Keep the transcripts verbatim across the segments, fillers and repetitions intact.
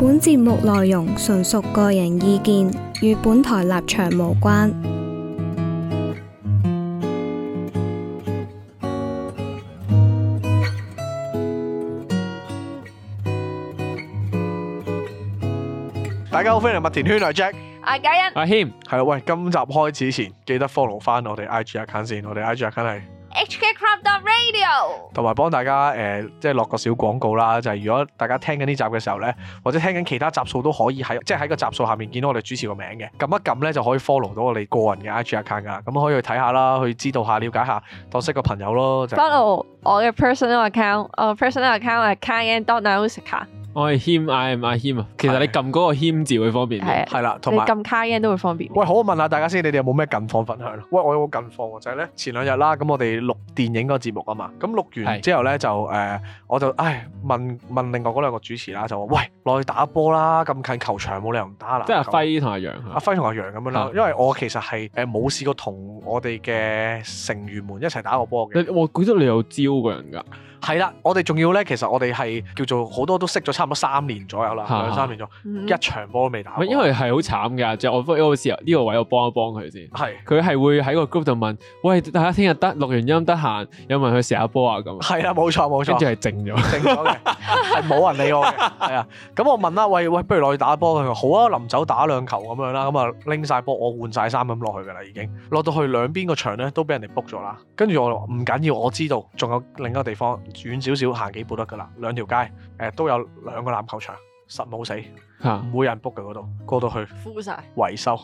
本節目內容純屬個人意見，與本台立場無關。 大家好，歡迎嚟麥田圈，我係 Jack， 阿嘉欣， 阿謙， 係啦，喂，今集開始前記得 follow 翻我哋 I G account 先，我哋 I G account 係 H K Crop Radio， 同埋幫大家誒、呃，即係落個小廣告啦，就係、是、如果大家聽緊呢集嘅時候咧，或者聽緊其他集數都可以喺，即係喺個集數下面見到我哋主持個名嘅，撳一撳咧就可以 follow 到我哋個人嘅 I G account 噶啦，咁可以去睇下啦，去知道下、了解下，當識個朋友咯。就 follow 我嘅 personal account， 我 personal account 係 Kayan dot Nausicaa。 我係謙 ，I am 阿謙啊。其實你撳嗰個謙字會方便啲， 係啦，同埋你撳 Kayan 都會方便。 喂，好，我問下大家先，你哋有冇咩近況分享？喂，我有個近況就係咧，前兩日啦，咁我哋錄電影嗰個節目啊嘛，咁錄完之後咧就誒、呃，我就唉問問另外嗰兩個主持啦，就話喂，落去打波啦，咁近球場冇理由唔打啦。即係阿輝同阿楊， 阿輝同阿楊咁樣啦，因為我其實係誒冇試過同我哋嘅成員們一齊打過波嘅。 我覺得你有招個人㗎。 係啦，我哋仲要咧，其實我哋係叫做好多都識咗差唔多三年左右啦，兩、啊、三年咗，嗯、一場波都未打過。因為係好慘㗎，即係我有時呢個位我幫一幫佢先。係是，佢係會喺個 group 度問，喂，大家聽日得錄完音得閒，有冇人去射下波啊？咁係啦，冇錯冇錯。跟住係靜咗， 靜咗嘅，係冇人理我嘅。係啊，咁我問啦，喂喂，不如落去打波？佢話好啊，臨走打兩球咁樣啦，咁啊拎晒波，我換晒衫咁落去㗎啦，已經落到去兩邊個場咧都俾人哋 book 咗啦。跟住我話唔緊要，我知道仲有另一個地方遠少少行幾步得噶啦，兩條街誒、呃、都有兩個籃球場，實冇死，唔、啊、會有人 book 嘅嗰度，過到去敷晒維修，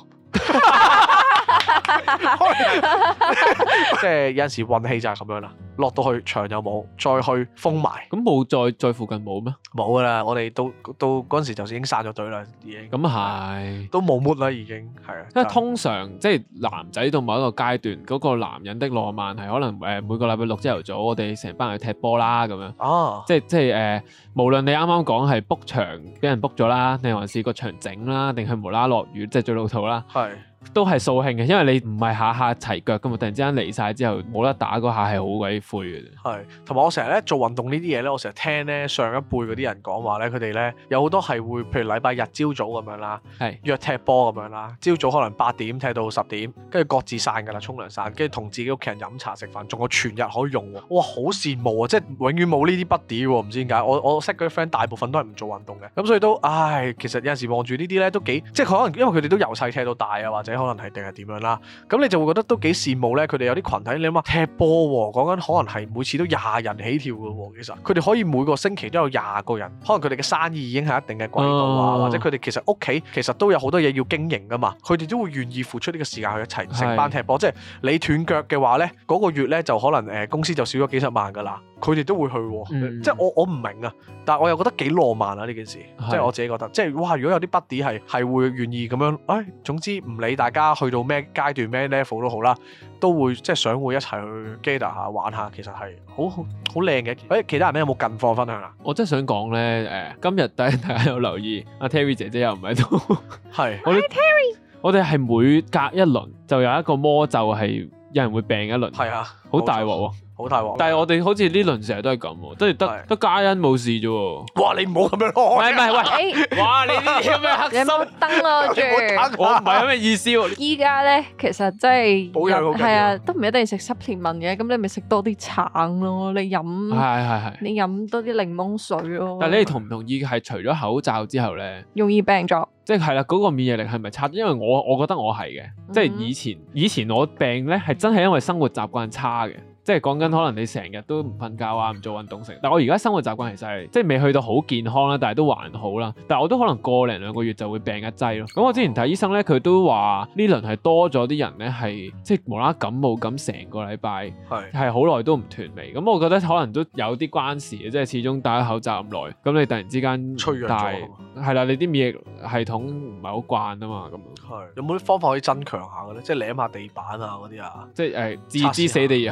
即係有陣時運氣就係咁樣啦。落到去場又冇，再去封埋， 咁冇再再附近冇咩？ 冇噶啦，我哋到到嗰陣時就已經散咗隊啦，已經。咁係，都冇 mood 啦，已經係啊。 因為通常即係男仔到某一個階段，嗰、嗰個男人的浪漫係可能誒每個禮拜六朝頭早，我哋成班人去踢波啦咁樣。哦，即係即係誒、呃，無論你啱啱講係 book 場俾人 book 咗啦，定還是個場整啦，定係無啦啦落雨，即係最老土啦。係。都係掃興嘅，因為你唔係下下齊腳噶嘛，突然之間嚟晒之後冇得打嗰下係好鬼灰嘅。係，同埋我成日咧做運動呢啲嘢咧，我成日聽咧上一輩嗰啲人講話咧，佢哋咧有好多係會，譬如禮拜日朝早咁樣啦，係是約踢波咁樣啦，朝早可能八點踢到十點，跟住各自散噶啦，沖涼散，跟住同自己屋企人飲茶食飯，仲有全日可以用喎。哇，好羨慕啊！即係永遠冇呢啲 buddy 喎，唔知點解。我我識嗰啲 friend 大部分都係唔做運動嘅，咁所以都唉，其實有陣時望住呢啲咧都幾，即係可能因為佢哋都由細踢到大啊，或者可能係定係點樣啦，咁你就會覺得都幾羨慕咧。佢哋有啲群體，你諗下踢波喎，講緊可能係每次都廿人起跳嘅喎。其實佢哋可以每個星期都有廿個人，可能佢哋嘅生意已經係一定嘅軌道啊，哦、或者佢哋其實屋企其實都有好多嘢要經營噶嘛。佢哋都會願意付出呢個時間去一齊成班踢波。是即係你斷腳嘅話咧，嗰、嗰個月咧就可能誒、呃、公司就少咗幾十萬噶啦。佢哋都會去喎，嗯、即係我我唔明啊，但係我又覺得幾浪漫啊呢件事，是即係我自己覺得，即係哇！如果有啲 buddy 係係會願意咁樣，誒、哎，總之唔理大家去到咩階段咩 level 都好啦，都會即係想會一齊去 gather 下玩下，其實係好好好靚嘅。誒，其他人咧有冇近況分享啊？ 我真係想講咧，誒，今日大家有留意阿 Terry 姐姐又唔喺度，係是，我哋 Terry，我哋係每隔一輪就有一個魔咒係有人會病一輪，係啊，好大鑊喎。好大鑊！但係我哋好似呢輪成日都係咁喎，即係得得嘉欣冇事啫喎。哇！你唔好咁樣咯，唔係唔係喂，哇！你呢啲咁嘅黑心，你冇登咯住。我唔係咁嘅意思喎。依家咧其實真係保養好緊要，係啊，都唔一定食濕甜文嘅，咁你咪食多啲橙咯，你飲係係係，你飲多啲檸檬水咯。但係你哋同唔同意係除咗口罩之後咧，容易病咗？即係係啦，嗰個免疫力係咪差？因為我我覺得我係嘅，即係以前以前我病咧係真係因為生活習慣差嘅。即係講緊可能你成日都唔瞓覺啊，唔做運動成。但係我而家生活習慣其實係即係未去到好健康啦，但係都還好啦。但係我都可能過零兩個月就會病一劑咯。咁我之前睇醫生咧，佢都話呢輪係多咗啲人咧係即係無啦啦感冒咁成個禮拜係係好耐都唔斷尾。咁我覺得可能都有啲關事嘅，即係始終戴咗口罩咁耐，咁你突然之間脆弱咗， 係啦，你啲免疫系統唔係好慣啊嘛，咁係有冇啲方法可以增強下嘅咧？即係舐下地板啊嗰啲啊， 即係誒置之死地而後生。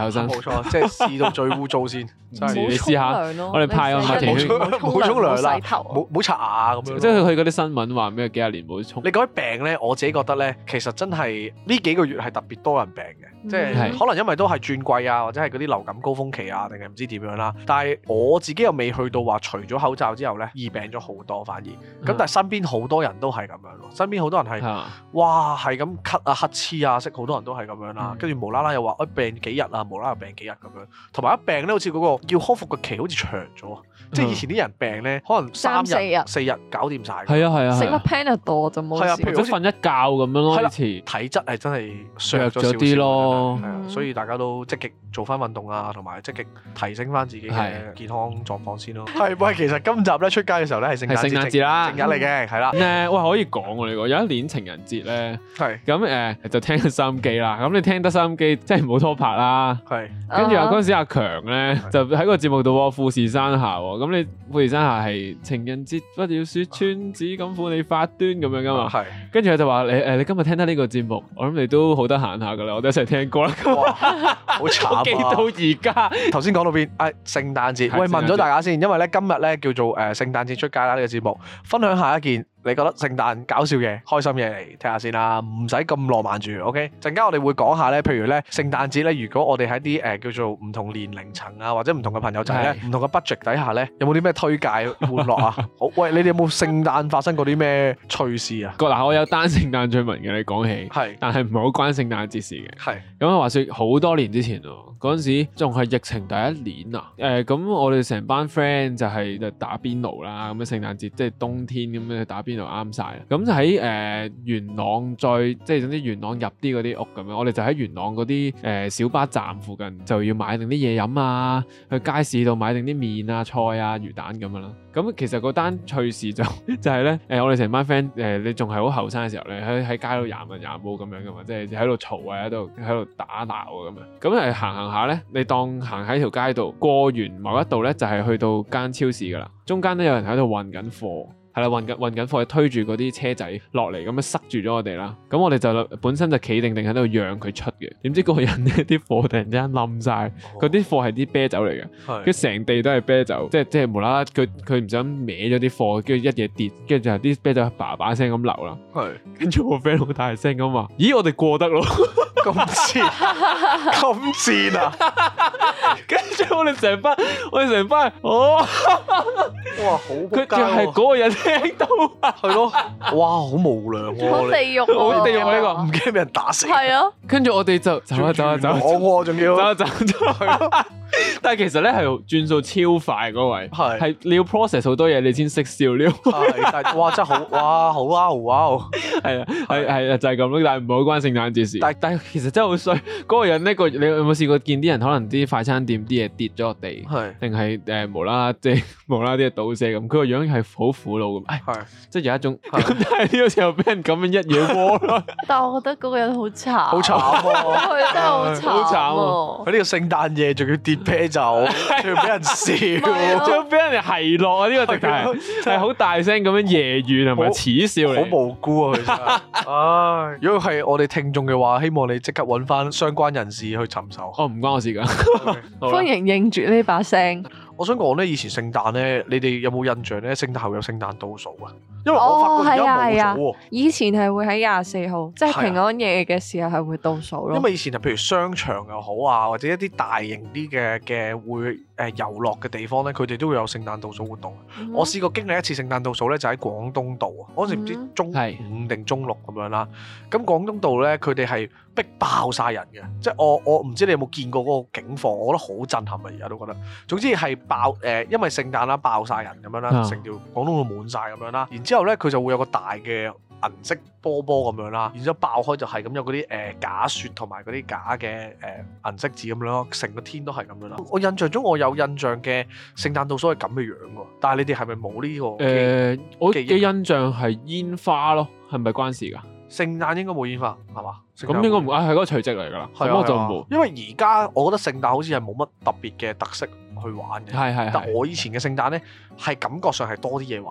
錯，即係試到最污糟先。 唔知你試下，我哋派個麥田圈， 冇沖涼啦，冇冇刷牙咁樣。 即係佢嗰啲新聞話咩幾廿年冇沖。 你講起病咧，我自己覺得咧，其實真係呢幾個月係特別多人病嘅，即係可能因為都係轉季啊，或者係嗰啲流感高峰期啊，定係唔知點樣啦。但係我自己又未去到話除咗口罩之後咧，易病咗好多反而。咁但係身邊好多人都係咁樣咯，身邊好多人係哇係咁咳啊乞嗤啊，識好多人都係咁樣啦。跟住無啦啦又話誒病幾日啊，無啦啦病幾日咁樣。同埋一病咧，好似嗰個要康復嘅期好似長咗，即係以前啲人病咧，可能三日四日搞掂晒。係啊係啊， 食粒 Panadol 就冇事。係啊， 譬如好似瞓一覺咁樣咯。以前體質係真係弱咗啲咯，係啊，所以大家都積極做翻運動啊，同埋積極提升翻自己嘅健康狀況先咯。係喂，其實今集咧出街嘅時候咧係聖誕節啦，正日嚟嘅，係啦。誒喂，可以講喎呢個，有一年情人節咧， 係咁誒就聽收音機啦。咁你聽得收音機，即係冇拖拍啦。係，跟住啊嗰陣時阿強咧就喺個節目度喎，富士山下喎。咁你富士山下係情人節不要説穿，只敢負你發端咁樣噶嘛。係，跟住佢就話你誒你今日聽得呢個節目，我諗你都好得閒下噶啦，我哋一齊聽歌啦。好慘啊！記到而家。頭先講到邊？誒聖誕節。喂，問咗大家先，因為咧今日咧叫做誒聖誕節出街啦呢個節目，分享下一件你覺得聖誕搞笑嘅、開心嘢嚟聽下先啦，唔使咁浪漫住。OK，陣間我哋會講下咧，譬如咧聖誕節咧，如果我哋喺啲誒叫做唔同年齡層啊，或者唔同嘅朋友仔咧，唔同嘅 budget 底下咧，有冇啲咩推介玩樂啊？好，喂，你哋有冇聖誕發生過啲咩趣事啊？嗱，我有單聖誕趣聞嘅，你講起，係，但係唔係好關聖誕節事嘅，係。咁啊，話説好多年之前喎，嗰陣時仲係疫情第一年啊，誒、呃，咁我哋成班 friend 就係就打邊爐啦，咁樣聖誕節即係冬天咁樣打邊爐啱晒。咁就喺誒、呃、元朗再即係總之元朗入啲嗰啲屋咁樣，我哋就喺元朗嗰啲誒小巴站附近就要買定啲嘢飲啊，去街市度買定啲麵啊、菜啊、魚蛋咁樣啦。咁其實嗰單趣事就就係咧誒，我哋成班 friend 誒，你仲係好後生嘅時候咧，喺喺街度廿文廿武咁樣噶嘛，即係喺度嘈啊，喺度喺度打鬧啊咁樣。咁誒行行下咧，你當行喺條街度過完某一度咧，就係、是、去到間超市噶啦，中間咧有人喺度運緊貨。係啦，運緊運緊貨，推住嗰啲車仔落嚟，咁樣塞住咗我哋啦。咁我哋就本身就企定定喺度讓佢出嘅。點知嗰個人咧啲貨突然之間冧晒，嗰啲貨係啲啤酒嚟嘅，跟住成地都係啤酒，即係即係無啦啦，佢佢唔想歪咗啲貨，跟住一嘢跌，跟住就啲啤酒叭叭聲咁流啦。係，跟住我 friend 好大聲咁話：咦，我哋過得咯，咁賤，咁賤啊！跟住我哋成班，我哋成班，哦，哇，好仆街喎！佢就係嗰個人。聽到啊，係咯，哇，好無良喎， 好地獄喎， 好地獄呢個，唔驚俾人打死。係啊， 跟住我哋就走啊走啊走， 我仲要走啊走走。 但係其實咧係轉數超快嗰位，係係你要 process 好多嘢，你先識笑呢。 係，但係哇真係好，哇好啊哇，係啊係係啊就係咁咯，但係唔好關聖誕節事。但係但係其實真係好衰，嗰個人呢個你有冇試過見啲人可能啲快餐店啲嘢跌咗落地，係定係誒無啦啦即係無啦啦啲嘢倒瀉咁，佢個樣係好苦惱。係，即係有一種咁，但係呢個時候俾人咁樣一嘢窩咯。 但係我覺得嗰個人好慘， 好慘喎！ 佢真係好慘， 好慘喎！佢呢個聖誕夜仲要跌啤酒，仲要俾人笑， 仲要俾人哋奚落啊！呢個直頭係好大聲咁樣揶揄同埋恥笑你， 好無辜啊！佢真係，唉！如果係我哋聽眾嘅話，希望你即刻揾翻相關人士去尋仇。 哦，唔關我事㗎。 歡迎認住呢把聲。 我想講咧，以前聖誕咧，你哋有冇印象咧？聖誕後有聖誕倒數啊？因為我發覺而家冇咗喎。 以前係會喺廿四號，即係平安夜嘅時候係會倒數咯。 因為以前就譬如商場又好啊，或者一啲大型啲嘅嘅會誒遊樂嘅地方咧，佢哋都會有聖誕倒數活動。Mm hmm. 我試過經歷一次聖誕倒數咧，就喺廣東道啊。嗰時唔知中五定中六咁樣啦。咁廣東道咧，佢哋係逼爆晒人嘅，即係我我唔知你有冇見過嗰個景況，我覺得好震撼啊！而家都覺得。總之係爆誒、呃，因為聖誕啦，爆晒人咁樣啦，成條廣東道滿晒咁樣啦。然之後咧，佢就會有個大嘅銀色波波咁樣啦。然之後爆開就係咁有嗰啲誒假雪同埋嗰啲假嘅誒、呃、銀色字咁樣咯，成個天都係咁樣啦。我印象中我有印象嘅聖誕倒數係咁嘅樣喎，但係你哋係咪冇呢個？誒、 呃，我嘅印象係煙花咯，係咪關事㗎？ 聖誕應該冇煙花，係嘛？ 咁應該唔啊，係嗰個除夕嚟㗎啦。咁、啊、我就冇， 因為而家我覺得聖誕好似係冇乜特別嘅特色去玩嘅。係係係。但我以前嘅聖誕咧，係感覺上係多啲嘢玩嘅。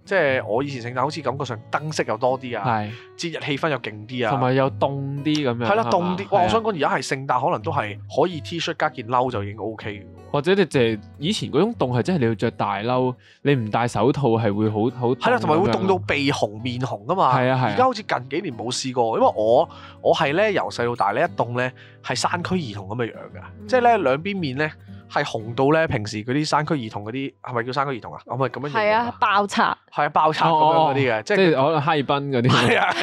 即係我以前聖誕好似感覺上燈飾又多啲啊，節日氣氛又勁啲啊， 同埋又凍啲咁樣。係啦， 凍啲。哇！我想講而家係聖誕，可能都係可以 T 恤加件褸就已經 O K 嘅。或者你淨係以前嗰種凍係真係你要着大褸，你唔戴手套係會好好。係啦，同埋會凍到鼻紅面紅噶嘛。係啊係。而家好似近幾年冇試過，因為我我係咧由細到大咧一凍咧係山區兒童咁嘅樣㗎，嗯、即係咧兩邊面咧。係紅到咧，平時嗰啲山區兒童嗰啲係咪叫山區兒童啊？我咪咁樣形容。係啊，爆拆。係啊，爆拆咁樣嗰啲嘅，即係可能哈爾濱嗰啲。係啊，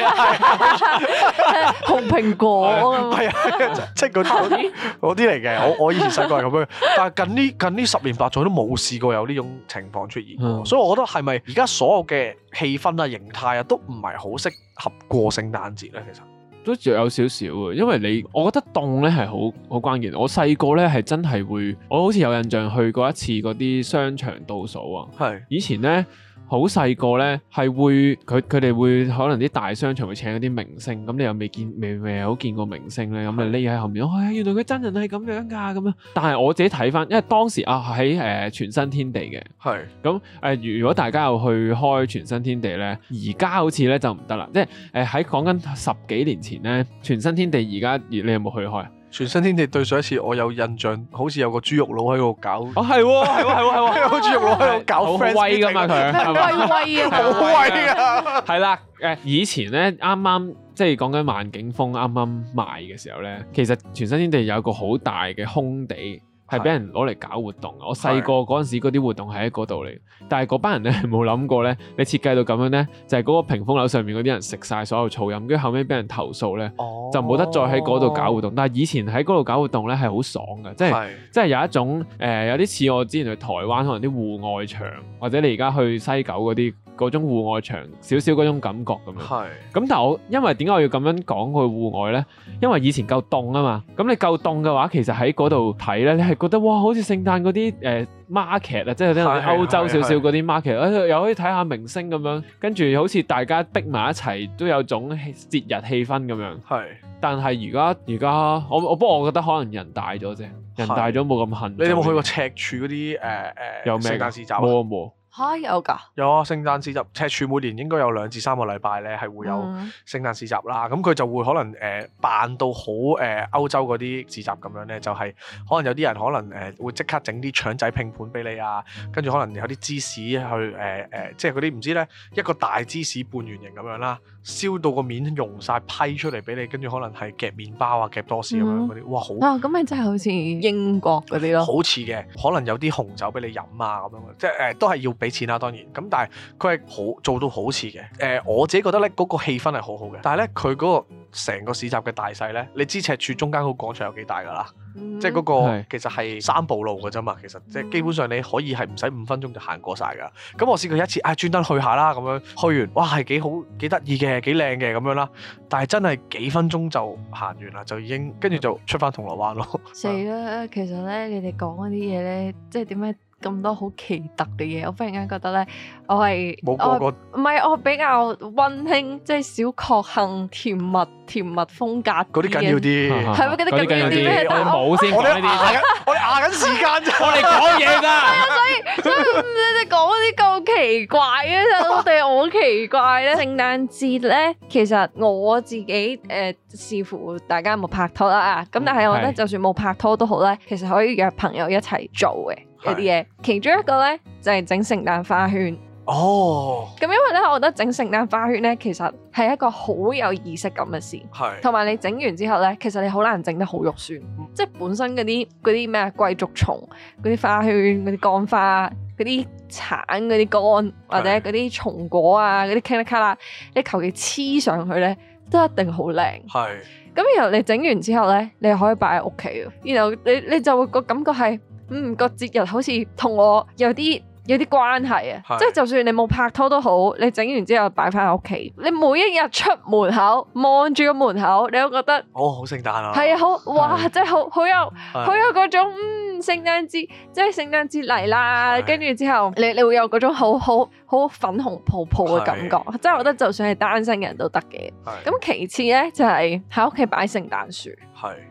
紅蘋果。 係啊，即係嗰啲嗰啲嚟嘅。我我以前細個係咁樣，但係近呢近呢十年八載都冇試過有呢種情況出現過。嗯、所以我覺得係咪而家所有嘅氣氛啊、形態啊，都唔係好適合過聖誕節咧？其實。 都仲有少少嘅，因為你，我覺得凍咧係好好關鍵。我細個咧係真係會，我好似有印象去過一次嗰啲商場倒數啊。係是以前咧。好細個咧，係會佢佢哋會可能啲大商場會請一啲明星，咁你又未見未未好見過明星咧，咁你匿喺後面，哎原來佢真人係咁樣㗎咁樣。但係我自己睇翻，因為當時啊喺誒全新天地嘅，係咁誒。如果大家有去開全新天地咧，而家好似咧就唔得啦，即係誒喺講緊十幾年前咧，全新天地而家你有冇去開啊？ 全新天地對上一次我有印象，好似有個豬肉佬喺度搞。 哦，係喎，係喎，係喎，係喎， 有個豬肉佬喺度搞，好威噶嘛佢，係威威啊， 好威啊！ 係啦，誒，以前咧啱啱即係講緊萬景峰啱啱賣嘅時候咧，其實全新天地有個好大嘅空地。係俾人攞嚟搞活動啊！我細個嗰陣時嗰啲活動係喺嗰度嚟，但係嗰班人咧係冇諗過咧，你設計到咁樣咧，就係、是、嗰個屏風樓上面嗰啲人食晒所有噪音，跟住後尾俾人投訴咧，哦、就冇得再喺嗰度搞活動。但係以前喺嗰度搞活動咧係好爽嘅，即係即係有一種誒、呃、有啲似我之前去台灣可能啲戶外場，或者你而家去西九嗰啲嗰種戶外場，少少嗰種感覺咁樣。係咁是，但係我因為點解我要咁樣講去戶外咧？因為以前夠凍啊嘛，咁你夠凍嘅話，其實喺嗰度睇咧，你係覺得哇，好似聖誕嗰啲誒 market 啊，即係啲歐洲少少嗰啲 market，又可以睇下明星咁樣，跟住好似大家逼埋一齊，都有種節日氣氛咁樣。係是，但係而家而家我我不過我覺得可能人大咗啫，人大咗冇咁恨。 你有冇去過赤柱嗰啲誒誒有咩聖誕市集？冇啊冇。 嚇有㗎？ 有啊！聖誕市集，赤柱每年應該有兩至三個禮拜咧，係會有聖誕市集啦。咁佢、嗯、就會可能誒、呃、扮到好誒、呃、歐洲嗰啲市集咁樣咧，就係、是、可能有啲人可能誒、呃、會即刻整啲腸仔拼盤俾你啊，跟住可能有啲芝士去誒誒、呃呃，即係嗰啲唔知咧一個大芝士半圓形咁樣啦，燒到個面溶晒批出嚟俾你，跟住可能係夾麵包啊、夾多士咁樣嗰啲，哇好啊！ 咁咪真係好似英國嗰啲咯， 好似嘅，可能有啲紅酒俾你飲啊咁樣，即係誒、呃、都係要俾錢啦，當然咁，但係佢係好做到好似嘅。誒、呃，我自己覺得咧，嗰、嗰個氣氛係好好嘅。但係咧，佢嗰個成個市集嘅大細咧，你知赤柱中間嗰個廣場有幾大㗎啦？嗯、即係嗰個其實係三步路㗎啫嘛。其實即係基本上你可以係唔使五分鐘就行過晒㗎。咁我試過一次，啊專登去下啦咁樣，去完哇係幾好幾得意嘅，幾靚嘅咁樣啦。但係真係幾分鐘就行完啦，就已經跟住就出翻銅鑼灣咯。 死啦！其實咧，你哋講嗰啲嘢咧，即係點解？咁多好奇特嘅嘢，我忽然間覺得咧，我係冇個個唔係我比較溫馨，即係小確幸、甜蜜、甜蜜風格嗰啲緊要啲， 係咪嗰啲緊要啲？ 我哋冇先講呢啲， 我哋壓緊時間啫， 我哋講嘢咋？ 所以所以你哋講嗰啲咁奇怪嘅，我哋好奇怪咧。聖誕節咧，其實我自己誒視乎大家有冇拍拖啦，咁但係我覺得就算冇拍拖都好咧，其實可以約朋友一齊做嘅。有啲嘢，其中一個咧就係整聖誕花圈。哦，咁因為咧，我覺得整聖誕花圈咧，其實係一個好有儀式感嘅事。係是，同埋你整完之後咧，其實你好難整得好肉酸。嗯、即係本身嗰啲嗰啲咩貴族松嗰啲花圈、嗰啲乾花、嗰啲橙嗰啲乾或者嗰啲松果啊、嗰啲卡啦卡啦，你求其黐上去咧，都一定好靚。係是，咁然後你整完之後咧，你可以擺喺屋企，然後你你就會個感覺係。嗯，個節日好似同我有啲有啲關係啊，是即係就算你冇拍拖都好，你整完之後擺翻喺屋企，你每一日出門口望住個門口，你都覺得哦，好聖誕啊！ 係啊，好哇，是真係好好有是好有嗰種嗯聖誕節，即係聖誕節嚟啦，跟住是之後你你會有嗰種好好好粉紅泡泡嘅感覺，是即係我覺得就算係單身人都得嘅。咁是其次咧就係喺屋企擺聖誕樹。係。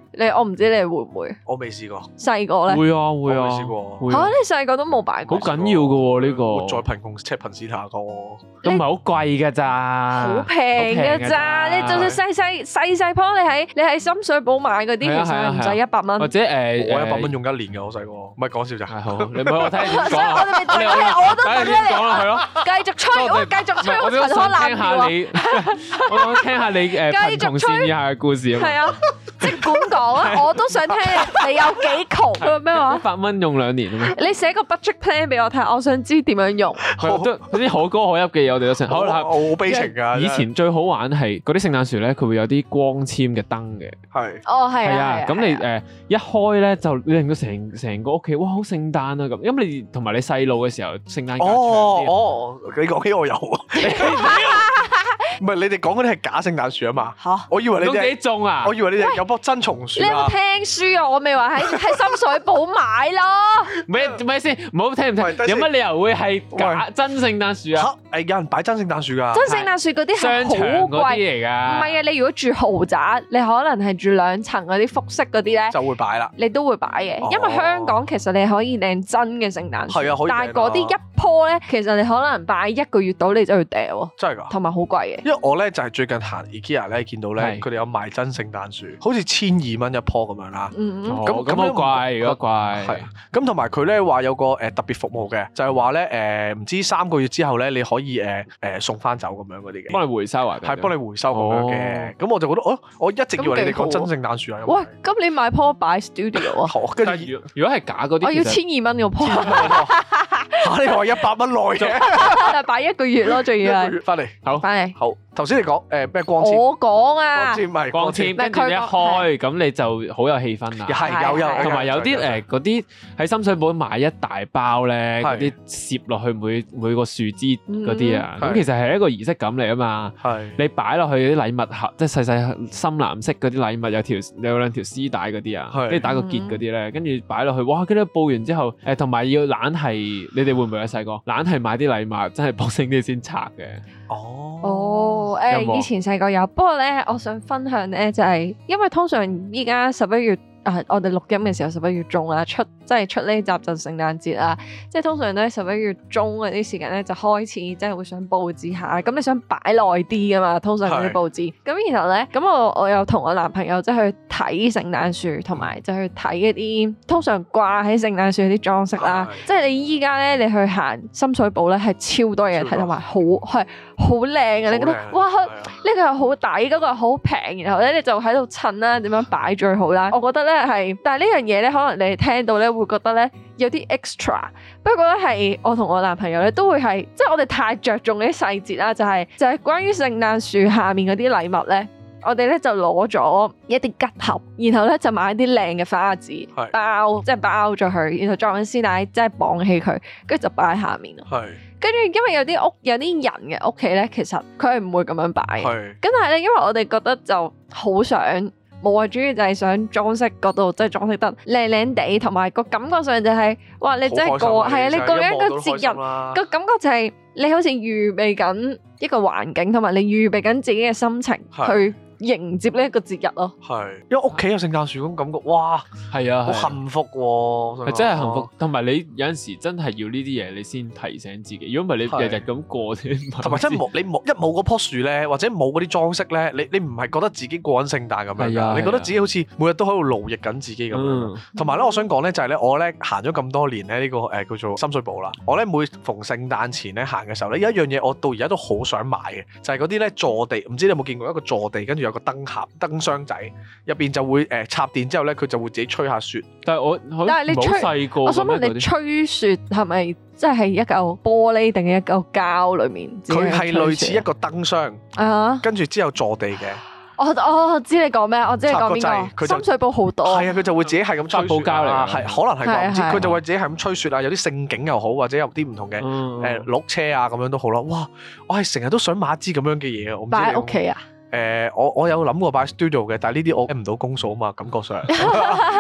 你我唔知你會唔會？ 我未試過。 細個咧？ 會啊會啊。 未試過。 嚇！你細個都冇擺過？ 好緊要㗎喎呢個。 活在貧窮赤貧線下個。 都唔係好貴㗎咋。 好平㗎咋？你就算細細細細樖，你喺你喺深水埗買嗰啲，其實唔使一百蚊。 或者誒， 我一百蚊用一年㗎，我細個。唔係講笑咋。係好，你唔好我聽你講。 所以我哋咪等你，我都等你講啦，係咯。 繼續吹，我繼續吹，我陳腔濫調啊！ 我想聽下你誒貧窮線以下嘅故事啊。 係啊，即管講啊！我都想聽你有幾窮。咩話？ 一百蚊用兩年啊嘛！ 你寫個 budget plan 俾我睇，我想知點樣用。 嗰啲可歌可泣嘅嘢，我哋都成。好啦， 我好悲情㗎。 以前最好玩係嗰啲聖誕樹咧，佢會有啲光纖嘅燈嘅。 係。 哦，係啊。係啊。 咁你誒一開咧，就令到成成個屋企哇好聖誕啊咁。因為你同埋你細路嘅時候，聖誕假長啲。 哦哦，你講起我有啊。唔係你哋講嗰啲係假聖誕樹啊嘛？嚇！我以為你哋幾種啊？ 我以為你哋有棵真松樹啊！ 你有冇聽書啊？我未話喺喺深水埗買咯。 咩咩先？唔好聽唔聽？有乜理由會係假真聖誕樹啊？ 嚇！誒有人擺真聖誕樹㗎。 真聖誕樹嗰啲係好貴嚟㗎。 唔係啊！你如果住豪宅，你可能係住兩層嗰啲複式嗰啲咧， 就會擺啦。 你都會擺嘅，因為香港其實你可以訂真嘅聖誕樹。係啊，可以。但係嗰啲一棵咧，其實你可能擺一個月到你就要掉喎。真係㗎。同埋好貴嘅。因為我咧就係最近行 IKEA 咧，見到咧佢哋有賣真聖誕樹，好似千二蚊一棵咁樣啦。嗯嗯。咁咁好貴，而家貴。係。咁同埋佢咧話有個誒特別服務嘅，就係話咧誒唔知三個月之後咧你可以誒誒送翻走咁樣嗰啲嘅。幫你回收啊？係幫你回收咁樣嘅。咁我就覺得哦，我一直以為你哋講真聖誕樹啊。喂，咁你買棵擺 studio 啊？好。跟住如果係假嗰啲，我要千二蚊個棵。嚇！你話一百蚊內嘅，但係擺一個月咯，仲要係。一個月翻嚟，好，翻嚟，好。頭先你講誒咩光纖？我講啊，光纖咪光纖，跟住一開咁你就好有氣氛啦。係有有，同埋有啲誒嗰啲喺深水埗買一大包咧，嗰啲攝落去每每個樹枝嗰啲啊，咁其實係一個儀式感嚟啊嘛。係你擺落去啲禮物盒，即係細細深藍色嗰啲禮物，有條有兩條絲帶嗰啲啊，跟住打個結嗰啲咧，跟住擺落去，哇！跟住報完之後，誒同埋要懶係，你哋會唔會有細個懶係買啲禮物真係 boxing啲先拆嘅？哦哦，誒以前細個有，不過咧，我想分享咧就係，因為通常依家十一月。啊！我哋錄音嘅時候十一月中啦，出即係出呢集就聖誕節啦，即係通常都喺十一月中嗰啲時間咧就開始即係會想佈置下，咁你想擺耐啲噶嘛？通常嗰啲佈置，咁是然後咧，咁我我又同我男朋友即係去睇聖誕樹，同埋就去睇一啲通常掛喺聖誕樹啲裝飾啦。是即係你依家咧，你去行深水埗咧係超多嘢睇，同埋好係好靚啊！你覺得哇，呢個又好抵，嗰個又好平，然後咧你就喺度襯啦，點樣擺最好啦？我覺得咧。係，但係呢樣嘢咧，可能你哋聽到咧會覺得咧有啲 extra。不過咧係我同我男朋友咧都會係，即係我哋太着重呢啲細節啦，就係就係關於聖誕樹下面嗰啲禮物咧，我哋咧就攞咗一啲吉盒，然後咧就買啲靚嘅花紙包，即係包咗佢，然後裝緊絲帶，即係綁起佢，跟住就擺喺下面咯。係，跟住因為有啲屋有啲人嘅屋企咧，其實佢係唔會咁樣擺嘅。係，咁但係咧，因為我哋覺得就好想。冇啊，主要就係想裝飾嗰度，即係裝飾得靚靚地，同埋個感覺上就係，哇！你真係過，係啊，你過緊一個節日，個感覺就係你好似預備緊一個環境，同埋你預備緊自己嘅心情去迎接呢一個節日咯。係，因為屋企有聖誕樹咁感覺，哇！係啊，好幸福喎，係真係幸福。同埋你有陣時真係要呢啲嘢，你先提醒自己。如果唔係你日日咁過，同埋真係冇你冇一冇嗰棵樹咧，或者冇嗰啲裝飾咧，你你唔係覺得自己過緊聖誕咁樣㗎？你覺得自己好似每日都喺度勞役緊自己咁樣。同埋咧，我想講咧就係咧，我咧行咗咁多年咧呢個誒叫做深水埗啦。我咧每逢聖誕前咧行嘅時候咧，有一樣嘢我到而家都好想買嘅，就係嗰啲咧坐地，唔知你有冇見過一個坐地，跟住有個燈盒、燈箱仔，入邊就會誒插電之後咧，佢就會自己吹下雪。但係我，但係你吹，細個我想問你吹雪係咪即係一嚿玻璃定係一嚿膠裡面？佢係類似一個燈箱啊，跟住之後坐地嘅。我我知你講咩，我知你講邊個。深水埗好多。係啊，佢就會自己係咁吹雪啊，係可能係啩，唔知佢就會自己係咁吹雪啊，有啲盛景又好，或者有啲唔同嘅誒鹿車啊咁樣都好啦。哇！我係成日都想買一支咁樣嘅嘢啊，我唔知你擺喺屋企啊？誒、呃，我我有諗過擺 studio 嘅，但係呢啲我 get 唔到公數啊嘛，感覺上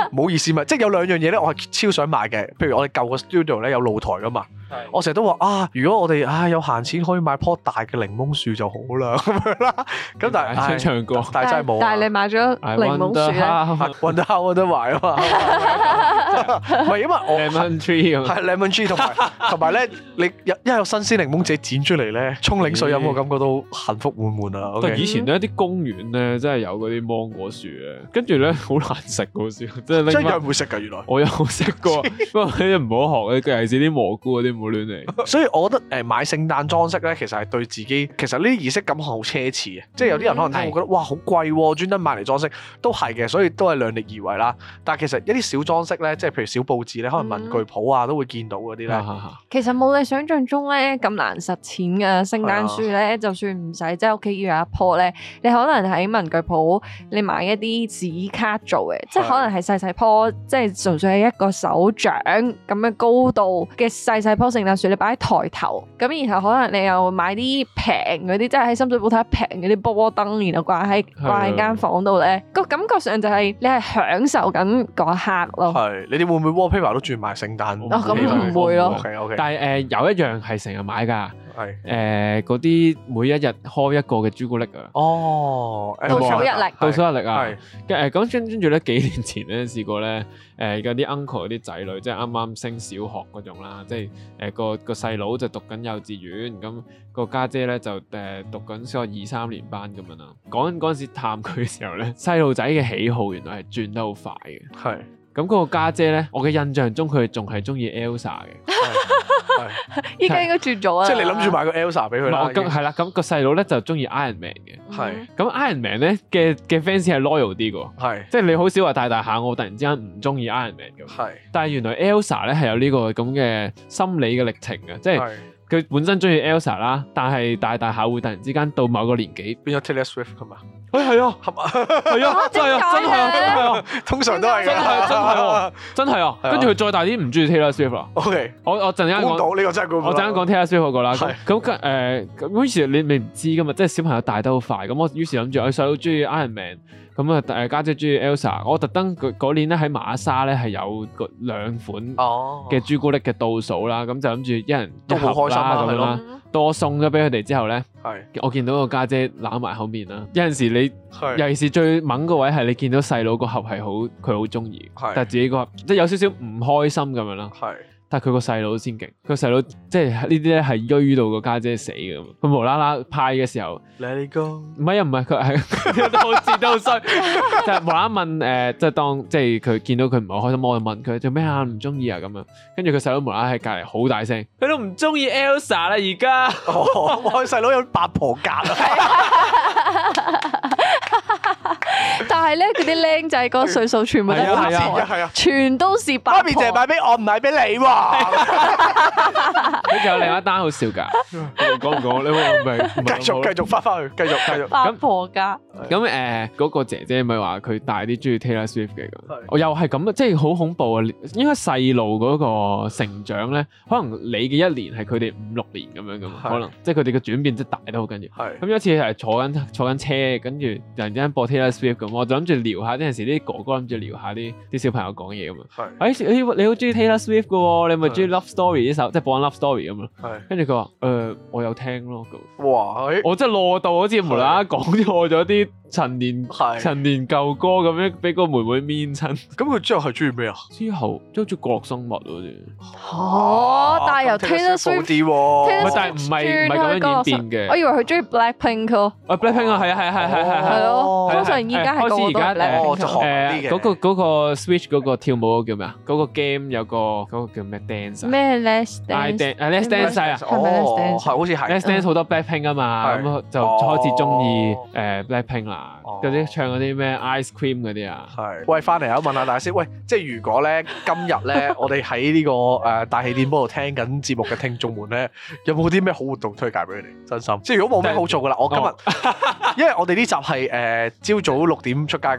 唔好意思嘛，即係有兩樣嘢咧，我係超想買嘅。譬如我哋舊個 studio 咧有露台噶嘛，我成日都話啊，如果我哋啊有閒錢可以買棵大嘅檸檬樹就好啦咁樣啦。咁但係想唱歌， 但係真係冇。 但係你買咗檸檬樹咧， 揾得我都買啊嘛。唔係因為我 lemon tree 咁， 係 lemon tree 同埋同埋咧，你一一有新鮮檸檬自己剪出嚟咧，沖檸水飲我感覺到幸福滿滿啊。 但係以前咧啲公園咧真係有嗰啲芒果樹咧，跟住咧好難食嗰時，即係真係會食㗎原來。我有食過，不過你唔好學，尤其是啲蘑菇嗰啲唔好亂嚟。 所以我覺得誒買聖誕裝飾咧，其實係對自己，其實呢啲儀式感好奢侈嘅。即係有啲人可能聽會覺得哇好貴喎，專登買嚟裝飾都係嘅，所以都係量力而為啦。但係其實一啲小裝飾咧，即係譬如小佈置咧，可能文具鋪啊都會見到嗰啲咧。 其實冇你想象中咧咁難實踐嘅聖誕樹咧，就算唔使即係屋企要有一棵咧，你可能喺文具鋪你買一啲紙卡做嘅，即係可能係細細棵，即係純粹係一個手掌咁嘅高度嘅細細棵聖誕樹，你擺喺台頭，咁然後可能你又買啲平嗰啲，即係喺深水埗睇平嗰啲波燈，然後掛喺掛喺間房度咧，個感覺上就係你係享受緊嗰一刻咯。 係，你哋會唔會 wallpaper 都轉賣聖誕？ 哦，咁唔會咯。 OK OK。 但係誒有一樣係成日買㗎。 係誒嗰啲每一日開一個嘅朱古力啊！ 哦， 倒數一力， 倒數一力啊！ 係誒咁跟跟住咧，幾年前咧試過咧，誒嗰啲 uncle 嗰啲仔女，即係啱啱升小學嗰種啦，即係誒個個細佬就讀緊幼稚園，咁個家姐咧就誒讀緊小學二三年班咁樣啦。講緊嗰陣時探佢嘅時候咧，細路仔嘅喜好原來係轉得好快嘅。 係咁嗰個家姐咧，我嘅印象中佢仲係中意 Elsa 嘅。 依家應該轉咗啦， 即係你諗住買個 Elsa 俾佢啦。 咁係啦，咁個細佬咧就中意 Iron Man 嘅。 係咁 Iron Man 咧嘅嘅 fans 係 loyal 啲嘅。 係即係你好少話大大下我突然之間唔中意 Iron Man 嘅。 係， 但係原來 Elsa 咧係有呢個咁嘅心理嘅歷程嘅，即係佢本身中意 Elsa 啦，但係大大下會突然之間到某個年紀變咗 Taylor Swift 係嘛？ 誒係啊，係嘛？係啊，真係啊，真係啊，真係啊， 通常都係真係真係喎，真係啊！跟住佢再大啲唔中意 Taylor Swift 啦。 OK， 我我陣間講到呢個真係估唔到。 我陣間講 Taylor Swift 嗰個啦。 係咁誒咁於是你你唔知噶嘛，即係小朋友大得好快。咁我於是諗住我細佬中意 Iron Man，咁啊誒家姐中意 Elsa。我特登嗰年咧喺瑪莎咧係有個兩款嘅朱古力嘅倒數啦，咁就諗住一人都好開心啊咁樣啦。到我送咗俾佢哋之後咧， 係我見到個家姐攬埋口面啦。有陣時你尤其是最猛個位係你見到細佬個盒係好佢好中意，但係自己個盒即係有少少唔開心咁樣啦。係。但係佢個細佬先勁，佢細佬即係呢啲咧係衰到個家姐死嘅，佢無啦啦派嘅時候 ，Let it go， 唔係啊，唔係佢係都好似都好衰，就係無啦啦問誒，即係當即係佢見到佢唔係好開心，我就問佢做咩啊，唔中意啊咁樣，跟住佢細佬無啦啦喺隔離好大聲，佢都唔中意 Elsa 啦而家， 我細佬有八婆格啊。 但係咧，佢啲僆仔嗰個歲數全部都八婆， 係啊， 全都是八婆。 媽咪淨係買俾我，唔買俾你喎。 跟住有另一單好笑㗎，講唔講？你話唔係？ 繼續繼續翻翻去，繼續繼續。 八婆家咁誒嗰個姐姐咪話佢大啲中意 Taylor Swift 嘅，我又係咁，即係好恐怖啊！應該細路嗰個成長咧，可能你嘅一年係佢哋五六年咁樣咁，可能即係佢哋嘅轉變即係大得好緊要。咁有一次係坐緊坐緊車，跟住突然之間播 Taylor Swift 咁，我就諗住聊下，有陣時啲哥哥諗住聊下啲啲小朋友講嘢咁啊。誒你你好中意 Taylor Swift 嘅喎，你咪中意 Love Story 呢首，即係播緊 Love Story 咁咯。跟住佢話誒我有聽咯咁。哇！我真係落到好似無啦啦講錯咗啲陳年陳年舊歌咁樣，俾個妹妹面親。咁佢之後係中意咩啊？ 之後即係好似角落生物嗰啲。 哦，但係由 Taylor Swift 啲喎， 但係唔係唔係咁樣演變嘅。 我以為佢中意 Blackpink 咯。 啊 Blackpink 啊，係啊係係係係係咯。通常而家係個個都係 Blackpink。 誒嗰個嗰個 Switch 嗰個跳舞嗰個叫咩啊？嗰個 game 有個嗰個叫咩 dance 啊？ 咩 Let's Dance？ 啊 Let's Dance 啊！ 係咪 Let's Dance？ 係好似係。 Let's Dance 好多 Blackpink 啊嘛，咁就開始中意誒 Blackpink 啦。嗰啲唱嗰啲咩 Ice Cream 嗰啲啊。 係。喂，翻嚟啊！問下大師，喂，即係如果咧今日咧，我哋喺呢個誒大氣電波度聽緊節目嘅聽眾們咧，有冇啲咩好活動推介俾佢哋？真心，即係如果冇咩好做噶啦，我今日因為我哋呢集係誒朝早六點出街噶嘛。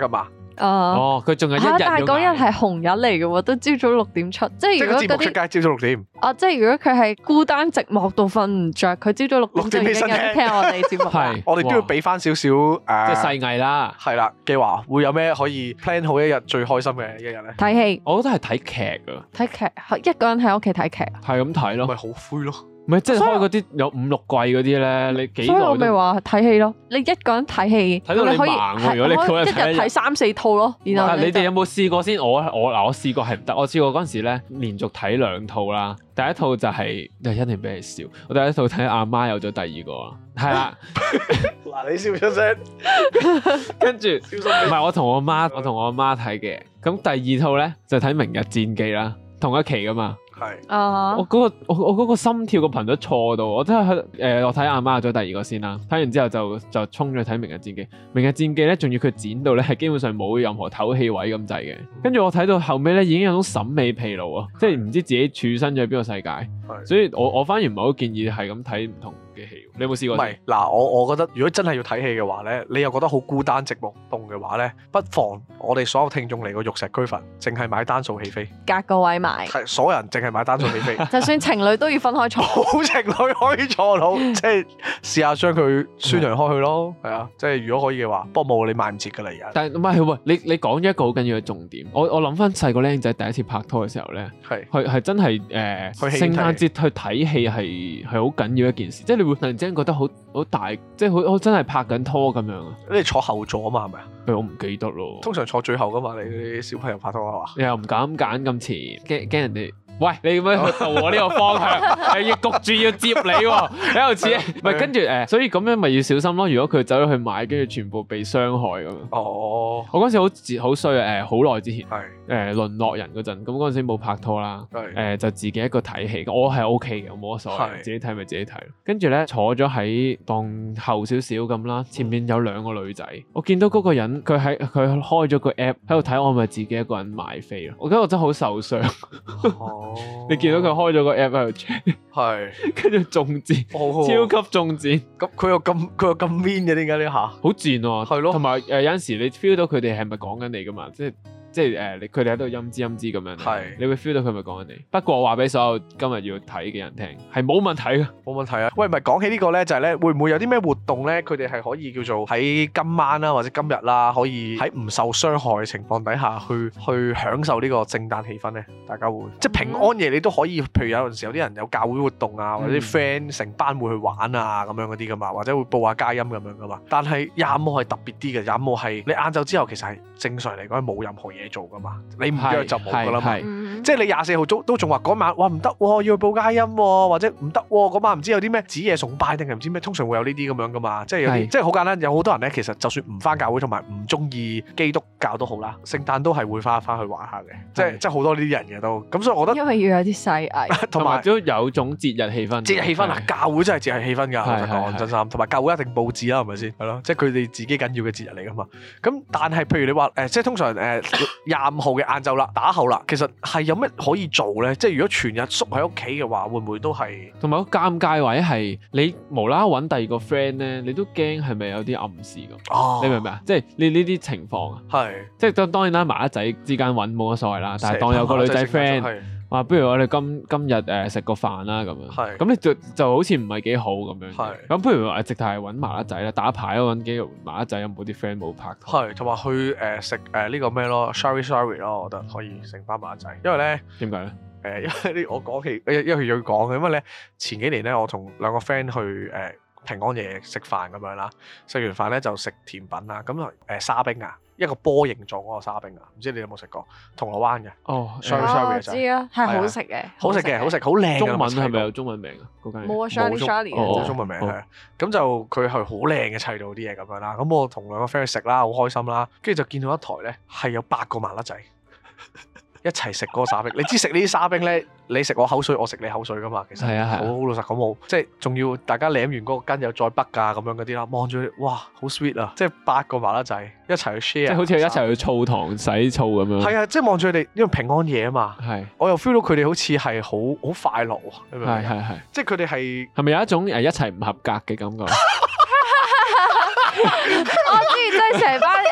哦，佢仲係一日。 但係嗰日係紅日嚟嘅喎，都朝早六點出。即係如果嗰啲出街朝早六點。 哦，即係如果佢係孤單寂寞到瞓唔着，佢朝早六點就已經有聽我哋節目。 係，我哋都要俾翻少少誒， 即係細藝啦。 係啦，嘅話會有咩可以 plan 好一日最開心嘅一日咧？ 睇戲， 我覺得係睇劇啊。 睇劇，一個人喺屋企睇劇。 係咁睇咯。 咪好灰咯。 唔係，即係開嗰啲有五六季嗰啲咧，你幾耐都？所以我咪話睇戲咯，你一個人睇戲， 睇到你盲喎。如果你嗰日一日睇三四套咯，然後你哋有冇試過先？我我嗱，我試過係唔得。我試過嗰陣時咧，連續睇兩套啦。第一套就係就一定俾你笑。我第一套睇阿媽有咗第二個啦，係啦。 嗱，你笑出聲， 跟住唔係我同我媽，我同我阿媽睇嘅。咁第二套咧就睇《明日戰記》啦，同一期噶嘛。 係， 啊！ 我嗰個我我嗰個心跳個頻率錯到，我真係誒、呃，我睇阿媽咗第二個先啦，睇完之後就就衝咗去睇《明日戰記》。《明日戰記》咧，仲要佢剪到咧係基本上冇任何唞氣位咁滯嘅。跟住我睇到後尾咧，已經有種審美疲勞啊，即係唔知自己處身咗喺邊個世界。所以我我反而唔係好建議係咁睇唔同嘅戲。你有冇試過？ 唔係嗱，我我覺得如果真係要睇戲嘅話咧，你又覺得好孤單寂寞凍嘅話咧，不妨我哋所有聽眾嚟個玉石俱焚，淨係買單數戲飛， 隔個位買， 係所有人淨係買單數戲飛， 就算情侶都要分開坐， 好情侶可以坐到，即係試下將佢宣揚開去咯，係啊，即係如果可以嘅話，不過冇你買唔切㗎啦而家。 但係唔係喂，你你講咗一個好緊要嘅重點，我我諗翻細個僆仔第一次拍拖嘅時候咧，係係係真係誒聖誕節去睇戲係係好緊要一件事，即係你會突然之間覺得好好大，即係好好真係拍緊拖咁樣啊！ 你坐後座啊嘛，係咪啊？ 誒，我唔記得咯。通常坐最後噶嘛，你啲小朋友拍拖啊嘛。 你又唔敢揀咁前，驚驚人哋。喂，你咁樣導我呢個方向，你要焗住要接你喎，喺度似，唔係跟住誒，所以咁樣咪要小心咯。如果佢走咗去買，跟住全部被傷害咁樣。哦，我嗰陣時好好衰啊！誒，好耐之前，係誒淪落人嗰陣，咁嗰陣時冇拍拖啦，誒就自己一個睇戲，我係 O K 嘅，我冇乜所謂，自己睇咪自己睇。跟住咧坐咗喺當後少少咁啦，前面有兩個女仔，我見到嗰個人佢喺佢開咗個 app 喺度睇，我咪自己一個人買飛咯。我覺得我真係好受傷。你見到佢開咗個 app 喺度 check， 係，跟住中箭，超級中箭。咁佢又咁佢又咁 mean 嘅，點解呢下？好賤喎，係咯。同埋誒有陣時你 feel 到佢哋係咪講緊你噶嘛？即係即係誒，佢哋喺度陰滋陰滋咁樣，係，你會 feel 到佢係咪講緊你。不過我話俾所有今日要睇嘅人聽，係冇問題嘅，冇問題啊。喂，唔係講起呢個咧，就係咧，會唔會有啲咩活動咧？佢哋係可以叫做喺今晚啦，或者今日啦，可以喺唔受傷害嘅情況底下去去享受呢個聖誕氣氛咧？大家會即係平安夜，你都可以，譬如有陣時有啲人有教會活動啊，或者啲 friend 成班會去玩啊咁樣嗰啲噶嘛，或者會報下佳音咁樣噶嘛。但係廿五號係特別啲嘅，廿五號係你晏晝之後其實係正常嚟講係冇任何嘢做噶嘛，你唔約就冇噶啦嘛。即係你廿四號都都仲話嗰晚哇唔得喎，要去報佳音喎，或者唔得喎嗰晚唔知有啲咩子夜崇拜定係唔知咩，通常會有呢啲咁樣噶嘛。即係有啲即係好簡單，有好多人咧其實就算唔返教會同埋唔中意基督教都好啦，聖誕都係會返返去玩下嘅，即係即係好多呢啲人嘅都。咁所以我覺得因為要有啲細藝，同埋都有種節日氣氛。節日氣氛啊，教會真係節日氣氛㗎，老實講真心。同埋教會一定佈置啦，係咪先？係咯，即係佢哋自己緊要嘅節日嚟㗎嘛。咁但係譬如你話誒，即係通常誒廿五號嘅晏晝啦，打後啦，其實係有咩可以做咧？即係如果全日縮喺屋企嘅話，會唔會都係？同埋個尷尬位係你無啦啦揾第二個 friend 咧，你都驚係咪有啲暗示咁？哦，你明唔明啊？即係你呢啲情況啊，係即係當當然啦，麻甩仔之間揾冇乜所謂啦，但係當有個女仔 friend。話不如我哋今今日誒食個飯啦咁樣，咁你就就好似唔係幾好咁樣。咁不如話直頭係揾麻甩仔啦，打牌咯，揾幾個麻甩仔，有冇啲 friend 冇拍拖？係同埋去誒食誒呢個咩咯 ，sorry sorry 咯，我覺得可以成班麻甩仔。因為咧點解咧？誒因為呢我講起，因為佢要講嘅，因為咧前幾年咧我同兩個 friend 去誒平安夜食飯咁樣啦，食完飯咧就食甜品啦，咁誒沙冰啊。一個波形狀嗰個沙冰啊，唔知你有冇食過？銅鑼灣嘅哦，sorry sorry 就知啊，係好食嘅，好食嘅，好食，好靚嘅。中文係咪有中文名啊？嗰間冇啊，Charlie Charlie 冇中文名係。咁就佢係好靚嘅砌到啲嘢咁樣啦。咁我同兩個 friend 去食啦，好開心啦。跟住就見到一台咧係有八個麻甩仔一齊食嗰個沙冰。你知食呢啲沙冰咧，你食我口水，我食你口水噶嘛。其實係啊係。好老實講冇，即係仲要大家舐完嗰個羹又再北㗎咁樣嗰啲啦。望住哇，好 sweet 啊！即係八個麻甩仔一齊去 share，即係好似一齊去澡堂洗澡咁樣。係啊，即係望住佢哋，因為平安夜啊嘛。係。我又 feel 到佢哋好似係好好快樂喎。你明唔明？係係係。即係佢哋係係咪有一種誒一齊唔合格嘅感覺？我知，即係成班誒誒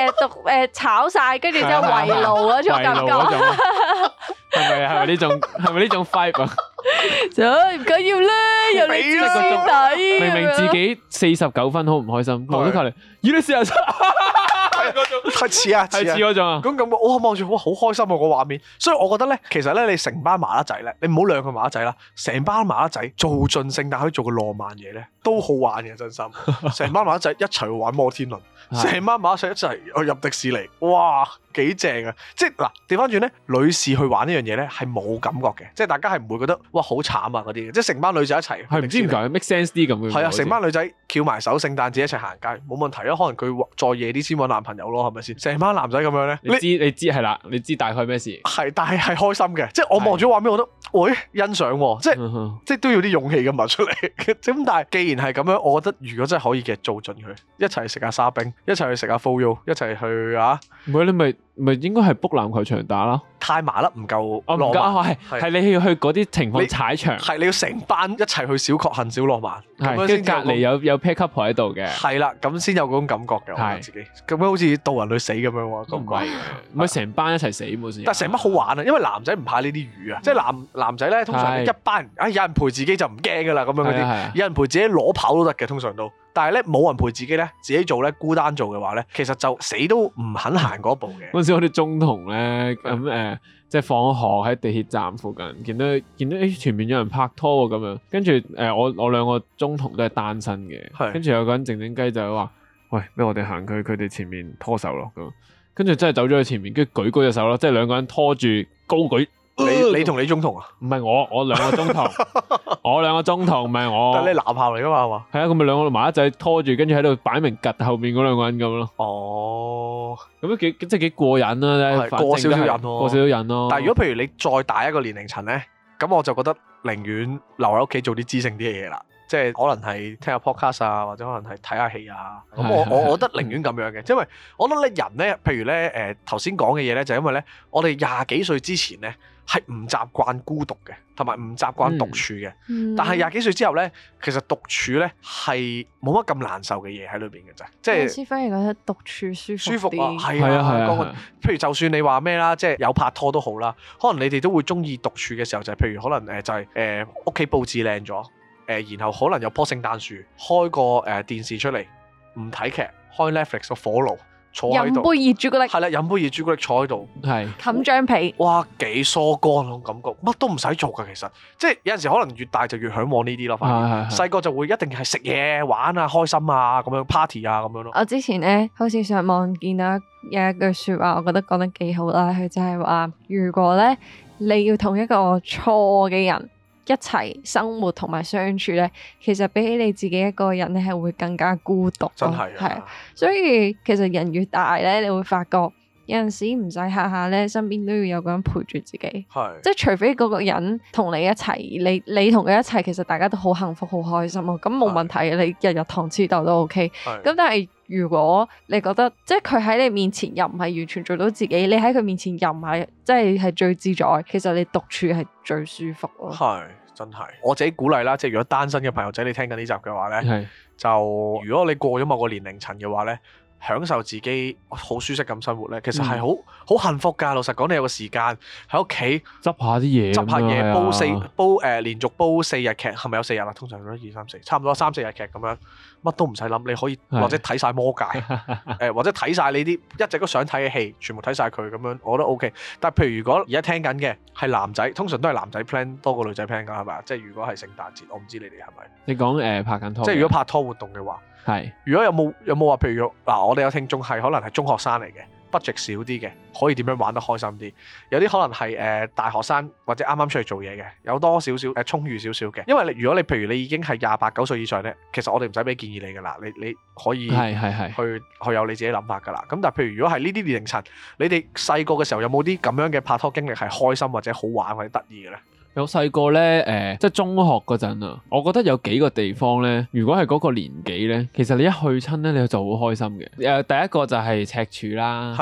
誒讀誒炒晒，跟住之後圍爐嗰種感覺。 係咪係咪呢種係咪呢種 vibe 啊？ 就唔緊要啦，有你知師弟。 明明自己四十九分好唔開心，望咗隔離，咦你四十七？ 係似啊， 係似嗰種啊。 咁咁我望住哇好開心啊個畫面，所以我覺得咧，其實咧你成班麻甩仔咧，你唔好兩個麻甩仔啦，成班麻甩仔做盡聖誕可以做個浪漫嘢咧，都好玩嘅真心。成班麻甩仔一齊去玩摩天輪，成班麻甩仔一齊去入迪士尼，哇幾正啊！即係嗱調翻轉咧，女士去玩呢樣嘢咧係冇感覺嘅，即係大家係唔會覺得哇好慘啊嗰啲嘅，即係成班女仔一齊係唔知點解 make sense 啲咁嘅。係啊，成班女仔翹埋手，聖誕節一齊行街冇問題啊，可能佢再夜啲先揾男朋友咯，係咪先？成班男仔咁樣咧， 你知你知係啦，你知大概咩事？係， 但係係開心嘅，即係我望住畫面，我覺得，喂，欣賞喎，即係、嗯、即係都要啲勇氣咁擘出嚟。咁但係既然係咁樣，我覺得如果真係可以嘅，做盡佢，一齊食下沙冰，一齊去食下 Froyo， 一齊去啊！ 唔係你咪咪應該係 book 籃球場打啦。 太麻甩唔夠浪漫，係係你要去嗰啲情況踩場， 係你要成班一齊去小確幸小浪漫，咁樣跟住隔離有有 pair couple 喺度嘅， 係啦，咁先有嗰種感覺嘅，我覺得自己咁樣好似導人去死咁樣喎，咁貴嘅， 唔係成班一齊死冇事。 但係成班好玩啊，因為男仔唔怕呢啲魚啊，即係男男仔咧通常一班人，啊有人陪自己就唔驚噶啦，咁樣嗰啲，有人陪自己攞跑都得嘅，通常都。但係咧冇人陪自己咧，自己做咧孤單做嘅話咧，其實就死都唔肯行嗰步嘅。 嗰陣時我哋中同咧咁誒，即係放學喺地鐵站附近，見到見到誒前面有人拍拖喎咁樣，跟住誒我我兩個中同都係單身嘅，跟住有個人靜靜雞就話：喂，俾我哋行佢佢哋前面拖手咯咁，跟住真係走咗去前面，跟住舉高隻手咯，即係兩個人拖住高舉。 你你同你中同啊？ 唔係我，我兩個中同，我兩個中同，唔係我。 但係你男校嚟噶嘛？係嘛？ 係啊，咁咪兩個麻甩仔拖住，跟住喺度擺明趌後面嗰兩個人咁咯。 哦， 咁都幾即係幾過癮啦， 過少少癮咯， 過少少癮咯。 但係如果譬如你再大一個年齡層咧，咁我就覺得寧願留喺屋企做啲知性啲嘅嘢啦。即係可能係聽下 podcast 啊，或者可能係睇下戲啊。咁我我我覺得寧願咁樣嘅，因為我覺得咧人咧，譬如咧誒頭先講嘅嘢咧，就係因為咧我哋廿幾歲之前咧係唔習慣孤獨嘅，同埋唔習慣獨處嘅。嗯、但係廿幾歲之後咧，其實獨處咧係冇乜咁難受嘅嘢喺裏邊嘅啫。即係師反而覺得獨處舒服舒服啊，係啊係啊。嗰個譬如就算你話咩啦，即係有拍拖都好啦，可能你哋都會中意獨處嘅時候，就係譬如可能誒就係誒屋企佈置靚咗。誒，然後可能有棵聖誕樹，開個誒電視出嚟，唔睇劇，開 Netflix 個火爐，坐喺度，飲杯熱朱古力，係啦，飲杯熱朱古力坐喺度，係冚張被， 哇，幾疏肝嗰種感覺，乜都唔使做噶，其實，即係有陣時可能越大就越嚮往呢啲咯，反而細個就會一定係食嘢、玩啊、開心啊咁樣 party 啊咁樣咯。 我之前咧好似上網見到有一句説話，我覺得講得幾好啦，佢就係話，如果咧你要同一個錯嘅人一齊生活同埋相處咧，其實比起你自己一個人咧，係會更加孤獨。真係係啊，所以其實人越大咧，你會發覺有陣時唔使下下咧，身邊都要有個人陪住自己。係，即係除非嗰個人同你一齊，你你同佢一齊，其實大家都好幸福、好開心咯。咁冇問題嘅，你日日糖黐豆都 OK。咁但係如果你覺得即係佢喺你面前又唔係完全做到自己，你喺佢面前又唔係即係係最自在，其實你獨處係最舒服咯。係真係，我自己鼓勵啦，即係如果單身嘅朋友仔你聽緊呢集嘅話咧，是就如果你過咗某個年齡層嘅話咧，享受自己好舒適咁生活咧，其實係好好幸福㗎。老實講，你有個時間喺屋企執下啲嘢，執下嘢煲四煲誒、呃、連續煲四日劇，係咪有四日啦？通常都二三四，差唔多三四日劇咁樣，乜都唔使諗，你可以或者睇晒魔戒，誒、呃、或者睇晒你啲一直都想睇嘅戲，全部睇晒佢咁樣，我覺得 OK。但係譬如如果而家聽緊嘅係男仔，通常都係男仔 plan 多過女仔 plan 㗎，係咪啊？即係如果係聖誕節，我唔知你哋係咪？你講誒、呃、拍緊拖，即係如果拍拖活動嘅話。係，如果有冇有冇話，譬如嗱，我哋有聽眾係可能係中學生嚟嘅，budget少啲嘅，可以點樣玩得開心啲？有啲可能係誒、呃、大學生或者啱啱出嚟做嘢嘅，有多少少誒充裕少少嘅。因為你如果你譬如你已經係廿八九歲以上咧，其實我哋唔使俾建議你噶啦，你你可以係係係去去有你自己諗法噶啦。咁但係譬如如果係呢啲年齡層，你哋細個嘅時候有冇啲咁樣嘅拍拖經歷係開心或者好玩或者得意嘅咧？有細個咧，誒、呃，即係中學嗰陣啊，我覺得有幾個地方咧，如果係嗰個年紀咧，其實你一去親咧，你就好開心嘅。誒、呃，第一個就係赤柱啦，係。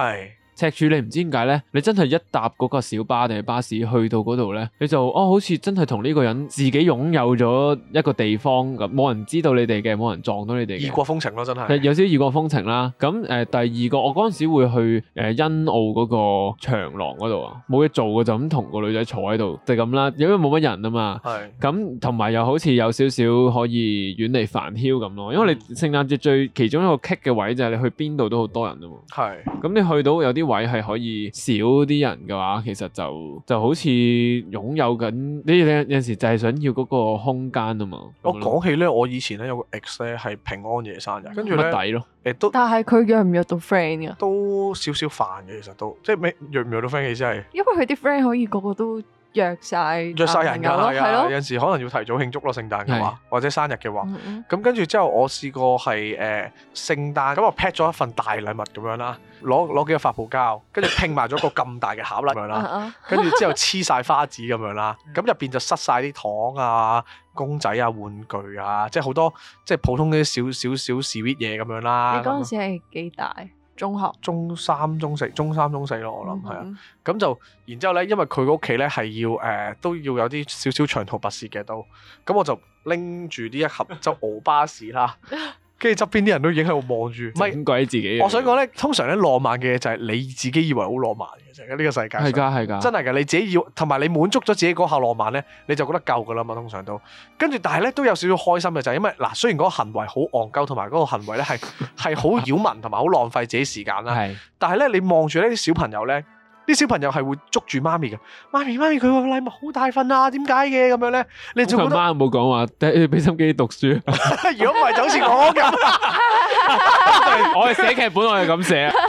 赤柱你唔知點解咧，你真係一搭嗰個小巴定係巴士去到嗰度咧，你就哦好似真係同呢個人自己擁有咗一個地方咁，冇人知道你哋嘅，冇人撞到你哋嘅。異國風情咯，真係。 有少少異國風情啦。咁誒、呃、第二個，我嗰陣時會去誒欣澳嗰個長廊嗰度啊，冇嘢做嘅就咁同個女仔坐喺度，就咁啦，因為冇乜人啊嘛。係是。咁同埋又好似有少少可以遠離煩囂咁咯，因為你聖誕節最其中一個棘嘅位就係你去邊度都好多人啊嘛。係是。咁你去到有啲位係可以少啲人嘅話，其實就就好似擁有緊你有陣時就係想要嗰個空間啊嘛。 我講起咧，我以前咧有個 ex 咧係平安夜生日，跟住咧抵咯。 誒都， 但係佢約唔約到 friend 噶？ 都少少煩嘅，其實都即係咩約唔約到 friend 嘅意思係？ 因為佢啲 friend 可以個個都約晒， 約晒人㗎，係啊， 咯有陣時可能要提早慶祝咯，聖誕嘅話，或者生日嘅話。 嗯咁跟住之後，我試過係誒聖誕咁，我 pack 咗一份大禮物咁樣啦，攞攞幾個發泡膠，跟住拼埋咗個咁大嘅盒啦咁樣啦，跟住之後黐晒花紙咁樣啦，咁入邊就塞晒啲糖啊、公仔啊、玩具啊，即係好多即係普通啲少少少 sweet 嘢咁樣啦。 你嗰陣時係幾大？中學、 中三、中四、中三、中四咯，我諗係啊。咁就然之後咧，因為佢個屋企咧係要誒、呃、都要有啲少少長途跋涉嘅都，咁我就拎住呢一盒就熬巴士啦。跟住側邊啲人都已經喺度望住，唔係鬼自己。 我想講咧，通常咧浪漫嘅嘢就係你自己以為好浪漫嘅啫，呢、呢個世界上。係㗎，係㗎。真係㗎，你自己要同埋你滿足咗自己嗰下浪漫咧，你就覺得夠㗎啦嘛。通常都跟住，但係咧都有少少開心嘅就係因為嗱，雖然嗰個行為好戇鳩，同埋嗰個行為咧係係好擾民同埋好浪費自己時間啦。係。但係咧，你望住呢啲小朋友咧。啲小朋友係會捉住媽咪嘅，媽咪媽咪佢個禮物好大份啊，點解嘅咁樣咧？你就覺得媽冇講話，俾俾心機讀書。 如果唔係就好似我咁， 我係寫劇本，我係咁寫啊。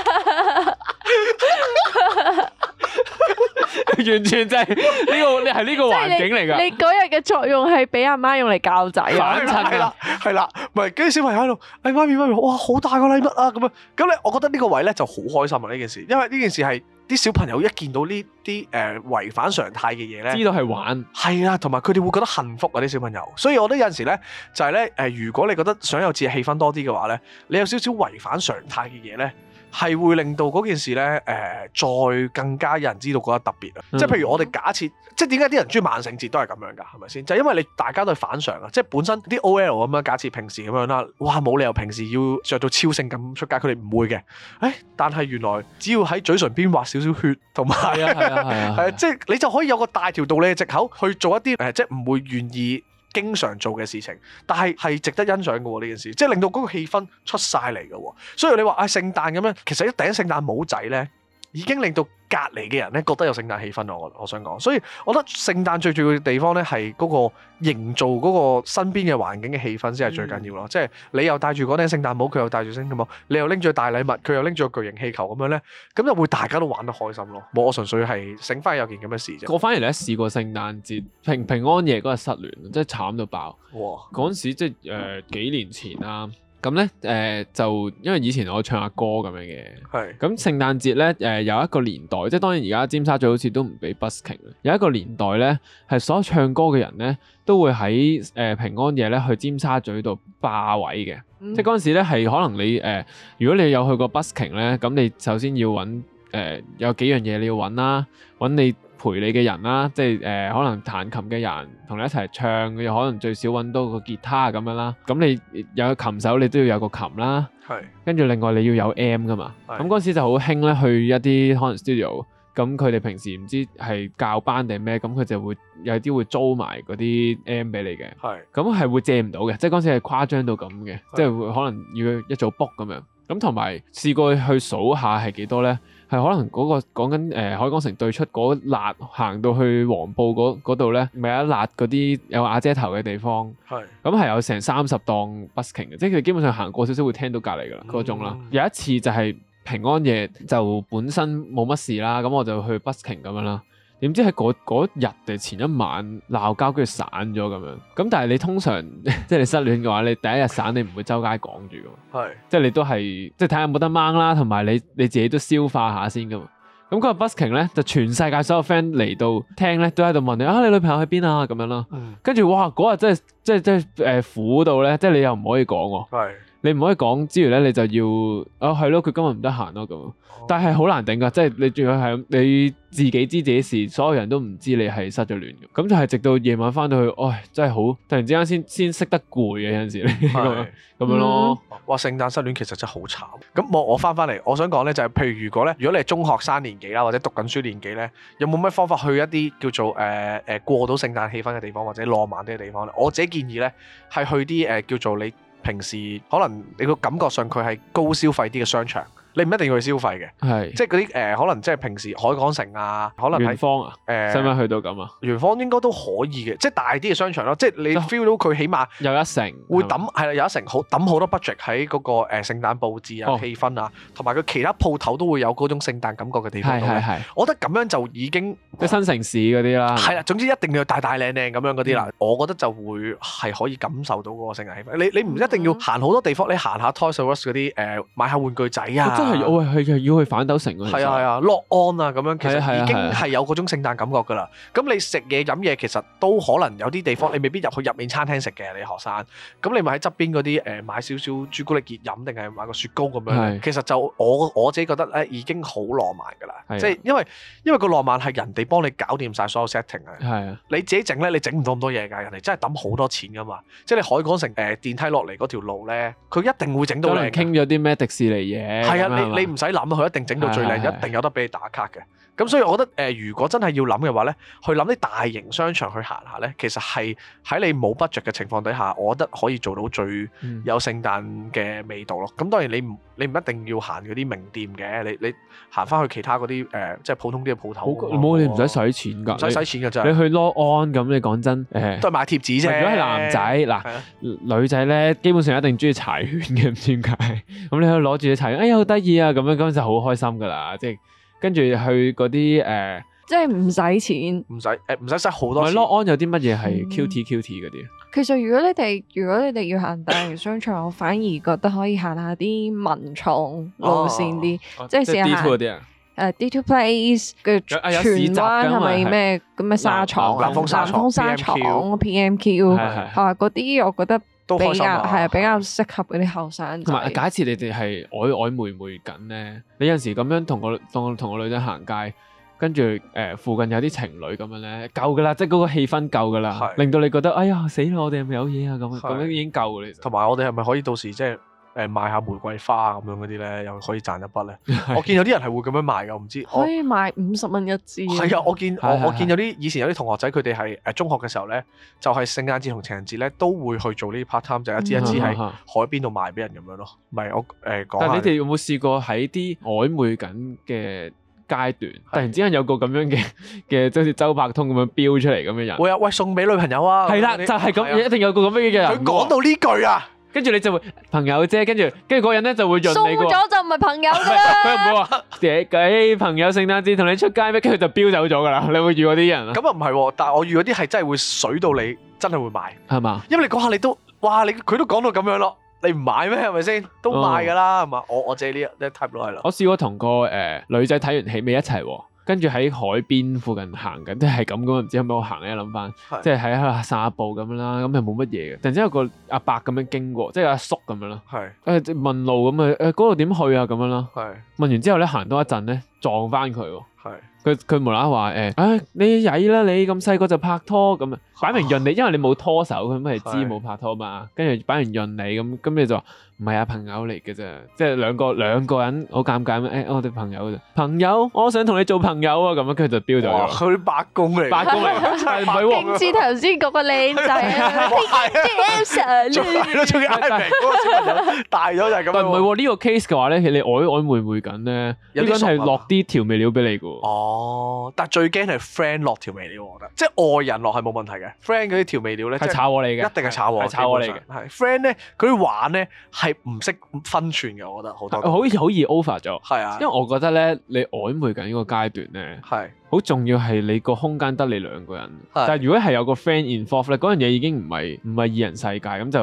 完全就係呢個，你係呢個環境嚟㗎。 你嗰日嘅作用係俾阿媽用嚟教仔啊？ 係啦，係啦，唔係跟住小朋友喺度，哎媽咪媽咪，哇好大個禮物啊咁樣。咁咧，我覺得呢個位咧就好開心啊呢件事，因為呢件事係啲小朋友一見到呢啲誒違反常態嘅嘢咧， 知道係玩，係啊，同埋佢哋會覺得幸福啊啲小朋友。所以我覺得有陣時咧就係咧誒，如果你覺得想有節日氣氛多啲嘅話咧，你有少少違反常態嘅嘢咧。係會令到嗰件事咧，誒、呃，再更加有人知道覺得特別啊！嗯、即係譬如我哋假設，即係點解啲人中意萬聖節都係咁樣㗎？係咪先？就係、因為你大家都係反常啊！即係本身啲 O L 咁樣，假設平時咁樣啦，哇，冇理由平時要着到超性咁出街，佢哋唔會嘅。誒，但係原來只要喺嘴唇邊畫少少血，同埋係啊係啊係啊，係啊，即係你就可以有個大條道理嘅藉口去做一啲誒、呃，即係唔會願意經常做嘅事情，但係係值得欣賞嘅喎呢件事，即係令到嗰個氣氛出晒嚟嘅喎。所以你話啊聖誕咁樣，其實一頂聖誕帽仔咧，已經令到隔離嘅人咧覺得有聖誕氣氛咯。我我想講，所以我覺得聖誕最重要嘅地方咧係嗰個營造嗰個身邊嘅環境嘅氣氛先係最緊要咯。嗯、即係你又戴住嗰頂聖誕帽，佢又戴住聖誕帽，你又拎住大禮物，佢又拎住個巨型氣球咁樣咧，咁就會大家都玩得開心咯。冇，我純粹係醒翻有件咁嘅事啫。 我反而咧試過聖誕節平平安夜嗰日失聯，真係慘到爆。哇！嗰陣時即係誒、呃、幾年前啦。咁咧誒就因為以前我唱下歌咁樣嘅，係咁聖誕節咧誒有一個年代，即係當然而家尖沙咀好似都唔俾 busking，有一個年代咧係所有唱歌嘅人咧都會喺誒、呃、平安夜咧去尖沙咀度霸位嘅，嗯、即係嗰陣時咧係可能你誒、呃、如果你有去過 busking 咧，咁你首先要揾誒、呃、有幾樣嘢你要揾啦，揾你陪你嘅人啦，即係誒、呃、可能彈琴嘅人同你一齊唱，又可能最少揾到個吉他咁樣啦。咁你有琴手，你都要有個琴啦。係是。跟住另外你要有 M 噶嘛。咁嗰陣時就好興咧，去一啲可能 studio，咁佢哋平時唔知係教班定咩，咁佢就會有啲會租埋嗰啲 M 俾你嘅。係是。咁係會借唔到嘅，即係嗰陣時係誇張到咁嘅，是即係會可能要一早 book 咁樣。咁同埋試過去數下係幾多咧？係可能嗰、那個講緊誒海港城對出嗰辣行到去黃埔嗰度咧，咪有一辣嗰啲有瓦遮頭嘅地方。係是。咁係有成三十檔 busking 嘅，即係佢基本上行過少少會聽到隔離㗎啦嗰種啦。有一次就係平安夜就本身冇乜事啦，咁我就去 busking 咁樣啦。點知喺嗰日定前一晚鬧交，跟住散咗咁樣。咁但係你通常即係你失戀嘅話，你第一日散你唔會周街講住㗎嘛。係是。即係你都係即係睇下有冇得掹啦，同埋你你自己都消化下先㗎嘛。咁嗰個 busking 咧，就全世界所有 friend 嚟到聽咧，都喺度問你啊，你女朋友喺邊啊咁樣啦。跟住、嗯、哇，嗰日真係即係即係誒苦到咧，即係你又唔可以講喎。係。 你唔可以講之餘咧，你就要啊係咯，佢今日唔得閒咯咁。但係好難頂㗎，即係你仲要係你自己知自己事，所有人都唔知你係失咗戀嘅，咁就係直到夜晚翻到去，唉，真係好突然之間先先識得攰嘅有陣時咧，咁樣咯。 哇！聖誕失戀其實真係好慘。咁我我翻翻嚟，我想講咧就係，譬如如果咧，如果你係中學生年紀啦，或者讀緊書年紀咧，有冇咩方法去一啲叫做誒誒、呃、過到聖誕氣氛嘅地方，或者浪漫啲嘅地方咧？我自己建議咧係去啲誒、呃、叫做你平時可能你個感覺上佢係高消費啲嘅商場。你唔一定要去消費嘅，係即係嗰啲誒，可能即係平時海港城啊，可能元芳啊，誒使唔使去到咁啊？元芳應該都可以嘅，即係大啲嘅商場咯，即係你 feel 到佢起碼有一成會抌係啦，有一成好抌好多 budget 喺嗰個誒聖誕佈置啊、氣氛啊，同埋佢其他鋪頭都會有嗰種聖誕感覺嘅地方。係係係，我覺得咁樣就已經即係新城市嗰啲啦。係啦，總之一定要大大靚靚咁樣嗰啲啦，我覺得就會係可以感受到嗰個聖誕氣氛。你你唔一定要行好多地方，你行下 Toys R Us 嗰啲誒買下玩具仔啊， 真係我係係。要去反斗城嗰陣， 係啊係啊，樂安啊咁樣，其實已經係有嗰種聖誕感覺㗎啦。咁你食嘢飲嘢其實都可能有啲地方你未必入去入面餐廳食嘅，你學生。咁你咪喺側邊嗰啲誒買少少朱古力熱飲，定係買個雪糕咁樣。其實就我我自己覺得咧，已經好浪漫㗎啦。即係因為因為個浪漫係人哋幫你搞掂晒所有 setting 啊。係啊，你自己整咧，你整唔到咁多嘢㗎。人哋真係抌好多錢㗎嘛。即係你海港城誒電梯落嚟嗰條路咧，佢一定會整到靚。 傾咗啲咩迪士尼嘢？ 係啊，你你唔使諗。佢一定整到最靚，一定有得俾你打卡嘅。咁所以我覺得誒、呃，如果真係要諗嘅話咧，去諗啲大型商場去行下咧，其實係喺你冇 budget 嘅情況底下，我覺得可以做到最有聖誕嘅味道咯。咁、嗯、當然你唔你唔一定要行嗰啲名店嘅，你你行翻去其他嗰啲誒，即係普通啲嘅鋪頭。 冇，你唔使使錢㗎， 唔使使錢㗎咋。 你去 Log On 咁，你講真誒，呃、 都係買貼紙啫。 如果係男仔嗱，的女仔咧基本上一定中意柴犬嘅，唔知點解。咁你可以攞住啲柴犬，哎呀好得意啊，咁樣咁就好開心㗎啦，即係。跟住去嗰啲誒， 即係唔使錢， 唔使誒，唔使使好多錢。 咪 Log On 有啲乜嘢係 Q T Q T 嗰啲？ 其實如果你哋如果你哋要行大型商場，我反而覺得可以行下啲文創路線啲，即係試下行誒 D two Place 嘅荃灣係咪咩咁嘅紗廠、 南豐紗廠、 南豐紗廠、P M Q 啊嗰啲，我覺得。比較係啊，比較適合嗰啲後生。 同埋，假設你哋係曖曖昧昧緊咧，你有陣時咁樣同個當同個女仔行街，跟住誒附近有啲情侶咁樣咧，夠噶啦，即係嗰個氣氛夠噶啦，是令到你覺得哎呀死啦，我哋係咪有嘢啊？咁咁樣已經夠噶啦。 同埋我哋係咪可以到時即係？誒賣下玫瑰花咁樣嗰啲咧，又可以賺一筆咧。我見有啲人係會咁樣賣㗎，我唔知可以賣五十蚊一支。 係啊，我見我我見有啲以前有啲同學仔，佢哋係誒中學嘅時候咧，就係聖誕節同情人節咧，都會去做呢啲 part time，就一支一支喺海邊度賣俾人咁樣咯。唔係我誒講。但係你哋有冇試過喺啲曖昧緊嘅階段，突然之間有個咁樣嘅嘅，即好似周伯通咁樣飆出嚟咁嘅人？ 會啊，喂送俾女朋友啊！ 係啦，就係咁，一定有個咁樣嘅人。 佢講到呢句啊！ 跟住你就會朋友啫，跟住跟住嗰人咧就會潤你個。 送咗就唔係朋友㗎啦。 佢又唔會話誒誒朋友聖誕節同你出街咩？跟住就飆走咗㗎啦。你會遇嗰啲人啊？ 咁啊唔係喎，但係我遇嗰啲係真係會水到你真係會買係嘛？ 因為你講下你都哇你佢都講到咁樣咯，你唔買咩係咪先？都買㗎啦係嘛？我我借呢一 type 咯係啦。 我試過同個誒女仔睇完戲未一齊喎。跟住喺海邊附近行緊，即係咁咁，唔知係咪我行咧？諗翻，即係喺度散下步咁樣啦，咁又冇乜嘢嘅。突然之間有個阿伯咁樣經過，即係阿叔咁樣咯。係誒問路咁啊，誒嗰度點去啊？咁樣咯。係問完之後咧，行多一陣咧，撞翻佢喎。係佢佢無啦啦話誒，唉你曳啦，你咁細個就拍拖咁啊，擺明潤你，因為你冇拖手，佢咪知冇拍拖嘛。跟住擺明潤你咁，咁你就話唔係啊，朋友嚟嘅啫，即係兩個兩個人好尷尬咩？誒我哋朋友啫，朋友，我想同你做朋友啊，咁樣跟住就飆咗。哇！佢啲八公嚟，八公嚟，係唔係喎？ 勁似頭先嗰個靚仔啊 Elsa 仲係咯，仲要嗌名嗰個小朋友大咗就係咁。 但唔係喎，呢個 case 嘅話咧，你曖曖昧昧緊咧，呢個人係落啲調味料俾你嘅喎。 哦，但係最驚係 friend 落調味料，我覺得，即係外人落係冇問題嘅 friend 嗰啲調味料咧， 係炒我嚟嘅， 一定係炒我， 係炒我嚟嘅。 係 friend 咧，佢啲玩咧係唔識分寸嘅，我覺得好多好好易 over 咗。係啊，因為我覺得咧，你曖昧緊呢個階段咧，係好重要係你個空間得你兩個人。但係如果係有個 friend involve 咧，嗰樣嘢已經唔係唔係二人世界，咁就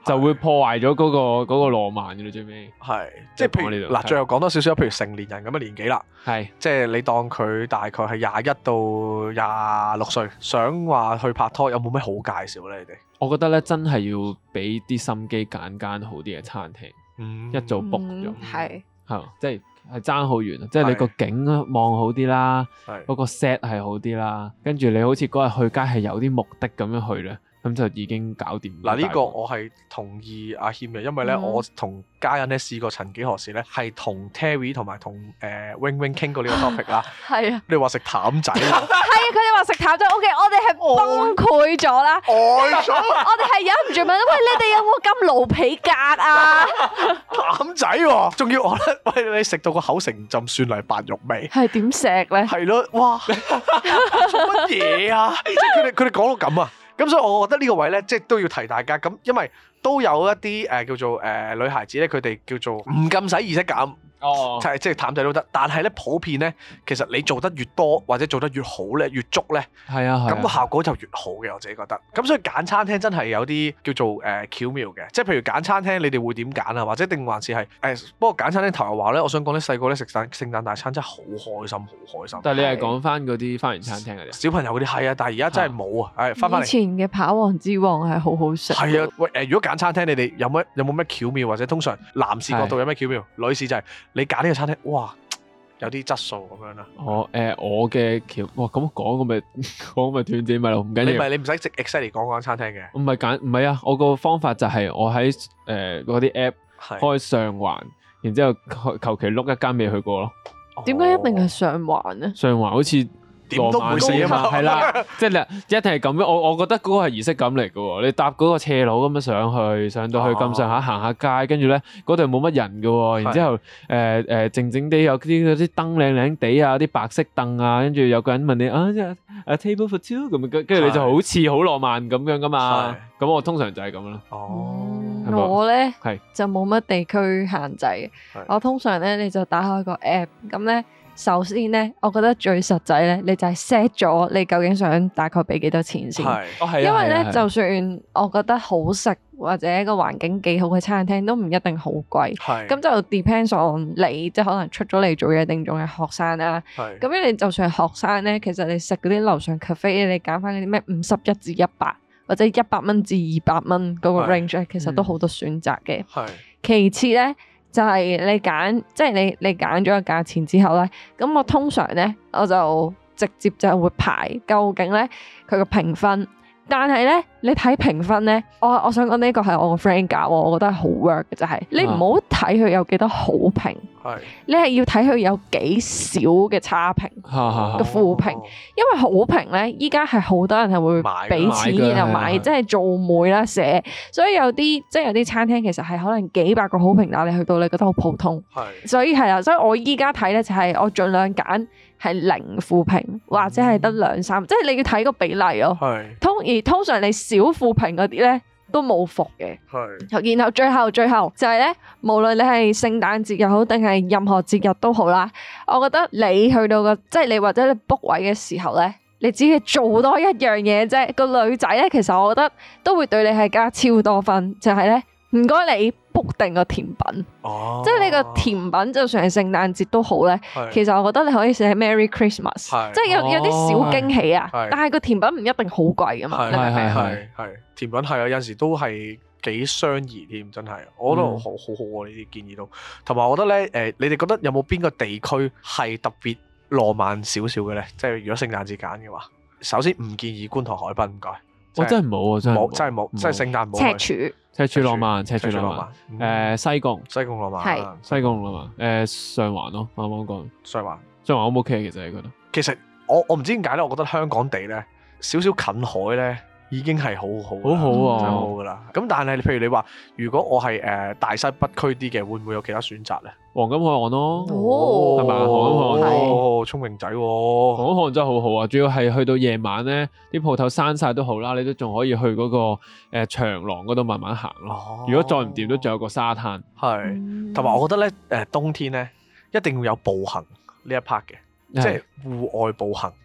就會破壞咗嗰個嗰個浪漫嘅啦，最尾。 係，即係譬如嗱，最後講多少少，譬如成年人咁嘅年紀啦，係，即係你當佢大概係廿一到廿六歲，想話去拍拖，有冇咩好介紹咧？你哋？我覺得咧，真係要俾啲心機揀間好啲嘅餐廳，嗯、一早 book 咗，係、嗯，係，即係係爭好遠啊！即係你個景望好啲啦，嗰個 set 係好啲啦，跟住你好似嗰日去街係有啲目的咁樣去咧。咁就已經搞掂。 嗱，呢個我係同意阿謙嘅，因為咧、嗯、我同家人咧試過曾幾何時咧係同 Terry 同埋同誒 Wing Wing 傾過呢個 topic 啦。係啊，你話食淡仔。係啊， 佢哋話食淡仔 OK，我哋係崩潰咗啦。呆咗。我哋係忍唔住問，喂，你哋有冇咁盧皮格啊？ 淡仔喎、啊，仲要我咧，喂，你食到個口成浸蒜泥白肉味。 係點食咧？ 係咯，哇！做乜嘢啊？即係佢哋佢哋講到咁啊！咁所以我覺得呢個位咧，即係都要提大家。咁因為都有一啲誒、呃、叫做誒、呃、女孩子咧，佢哋叫做唔咁使儀式感。哦，就係即係淡仔都得，但係咧普遍咧，其實你做得越多或者做得越好咧，越足咧，係啊，咁個效果就越好嘅，我自己覺得。咁所以揀餐廳真係有啲叫做誒、呃、巧妙嘅，即係譬如揀餐廳，你哋會點揀啊？或者定還是係誒、呃？不過揀餐廳頭又話咧，我想講咧細個咧食聖聖誕大餐真係好開心，好開心。但係你係講翻嗰啲花園餐廳嗰啲小朋友嗰啲係啊，但係而家真係冇啊！誒，翻返嚟。以前嘅跑王之王係好好食。 係啊，喂誒，如果揀餐廳，你哋有乜有冇咩巧妙，或者通常男士角度有咩巧妙？女士就係你揀呢個餐廳。哇，有啲質素咁樣啦。哦，誒、呃，我嘅橋，哇，咁講咁咪講咪斷字咪咯，唔緊要。你唔係你唔使直 exactly 講嗰間餐廳嘅。唔係揀，唔係啊，我個方法就係我喺誒嗰啲 app 開上環，然之後求其碌一間未去過咯。 點解一定係上環咧？ 上環好似。點都唔會死啊嘛，係啦，即係你一定係咁樣。我我覺得嗰個係儀式感嚟嘅喎。你搭嗰個斜路咁樣上去，上到去咁上下行下街，跟住咧嗰度冇乜人嘅喎。然之後誒誒靜靜地有啲嗰啲燈靚靚地啊，啲白色凳啊，跟住有個人問你啊，即係 a table for two 咁，跟住你就好似好浪漫咁樣噶嘛。咁我通常就係咁啦。哦， 我咧就冇乜地區限制。我通常咧你就打開個 app 咁咧。首先咧，我覺得最實際咧，你就係 set 咗你究竟想大概俾幾多錢先。係，哦係啊。因為咧，就算我覺得好食或者個環境幾好嘅餐廳，都唔一定好貴。係。咁就 depends on 你，即係可能出咗嚟做嘢定仲係學生啊。係。咁樣你就算係學生咧，其實你食嗰啲樓上 cafe，你揀翻嗰啲咩五十一至一百或者一百蚊至二百蚊嗰個 range 咧，其實都好多選擇嘅。係。其次咧。就係你揀，即係你你揀咗個價錢之後咧，咁我通常咧我就直接就會排究竟咧佢個評分。但係咧，你睇評分咧，我我想講呢個係我個 friend 教我，我覺得係好 work 嘅就係、是，你唔好睇佢有幾多好評，係你係要睇佢有幾少嘅差評，嘅負評，因為好評咧，依家係好多人係會俾錢然後買，即係做媒啦寫，所以有啲即係有啲餐廳其實係可能幾百個好評，但係你去到你覺得好普通，係，所以係啦，所以我依家睇咧就係我盡量揀。係零負評或者係得兩三，嗯、即係你要睇個比例咯。係通而通常你少負評嗰啲咧都冇伏嘅。係，然後最後最後就係咧，無論你係聖誕節又好定係任何節日都好啦，我覺得你去到個即係你或者你 book 位嘅時候咧，你只係做多一樣嘢啫。個女仔咧，其實我覺得都會對你係加超多分，就係咧。唔該，你 book 定個甜品，哦、即係你個甜品就算係聖誕節都好咧。是其實我覺得你可以寫 Merry Christmas，是即係有、哦、有啲小驚喜啊。是但係個甜品唔一定好貴噶嘛。係係係係甜品係啊，有陣時都係幾相宜添，真係。我覺得好好好啊，呢啲建議都。同埋我覺得咧，誒、呃，你哋覺得有冇邊個地區係特別浪漫少少嘅咧？即係如果聖誕節揀嘅話，首先唔建議觀塘海濱，唔該。我真係冇啊，真係冇，真係冇，真係聖誕冇。赤柱。赤柱浪漫，赤柱浪漫，誒西貢，西貢浪漫，係西貢浪漫，誒上環咯，啱啱講上環，上環 O 唔 OK 其實你覺得？其實我我唔知點解咧，我覺得香港地咧少少近海咧已經係好好，好好啊，好好噶啦。咁但係譬如你話，如果我係誒大西北區啲嘅，會唔會有其他選擇咧？黃金海岸咯，係咪？黃金海岸，哦，聰明仔喎！黃金海岸真係好好啊，主要係去到夜晚咧，啲鋪頭閂晒都好啦，你都仲可以去嗰個誒長廊嗰度慢慢行咯。如果再唔掂，都仲有個沙灘。係，同埋我覺得咧，誒冬天咧一定要有步行呢一 part 嘅，即係戶外步行。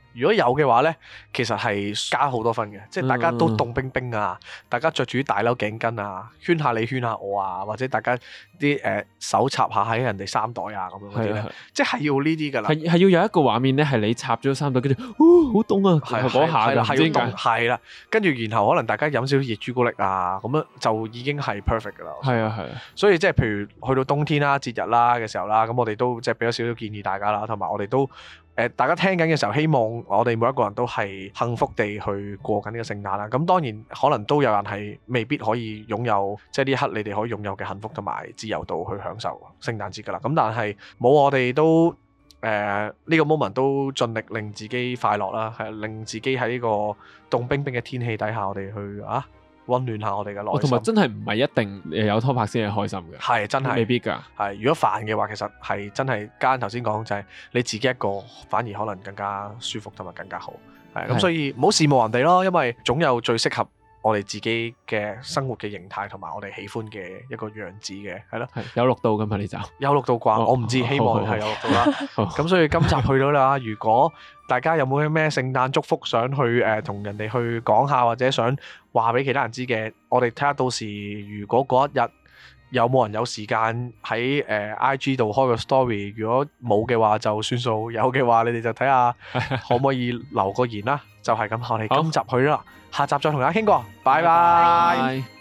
如果有嘅話咧，其實係加好多分嘅，即係大家都凍冰冰啊，嗯、大家着住啲大褸頸巾啊，圈下你圈下我啊，或者大家啲誒、呃、手插下喺人哋衫袋啊咁樣嗰啲咧，即係要呢啲㗎啦。係係要有一個畫面咧，係你插咗衫袋，跟住，哦，好凍啊！係嗰下㗎，係要凍，係啦，跟住然後可能大家飲少少熱朱古力啊，咁樣就已經係 perfect 㗎啦。 係啊係啊， 所以即係譬如去到冬天啦、節日啦嘅時候啦，咁我哋都即係俾咗少少建議大家啦，同埋我哋都。誒，大家聽緊嘅時候，希望我哋每一個人都係幸福地去過緊呢個聖誕啦。咁當然可能都有人係未必可以擁有，即係呢一刻你哋可以擁有嘅幸福同埋自由度去享受聖誕節㗎啦。咁但係冇我哋都誒呢、呃呢個 moment 都盡力令自己快樂啦，係令自己喺呢個凍冰冰嘅天氣底下，我哋去啊〜溫暖下我哋嘅內心， 同埋真係唔係一定有拖拍先係開心嘅， 係真係未必㗎。 係如果煩嘅話，其實係真係家人頭先講就係你自己一個，反而可能更加舒服同埋更加好。係咁，所以唔好羨慕人哋咯，因為總有最適合我哋自己嘅生活嘅形態同埋我哋喜歡嘅一個樣子嘅，係咯。 係有錄到㗎嘛？呢集有錄到啩？哦、我唔知，希望係有錄到啦。咁所以今集去到啦，如果大家有冇啲咩聖誕祝福想去誒同、呃、人哋去講下，或者想話俾其他人知嘅，我哋睇下到時如果嗰一日有冇人有時間喺誒 I G 度開個 story， 如果冇嘅話就算數，有嘅話你哋就睇下可唔可以留個言啦。就係咁，我哋今集去啦，下集再同大家傾過，拜拜。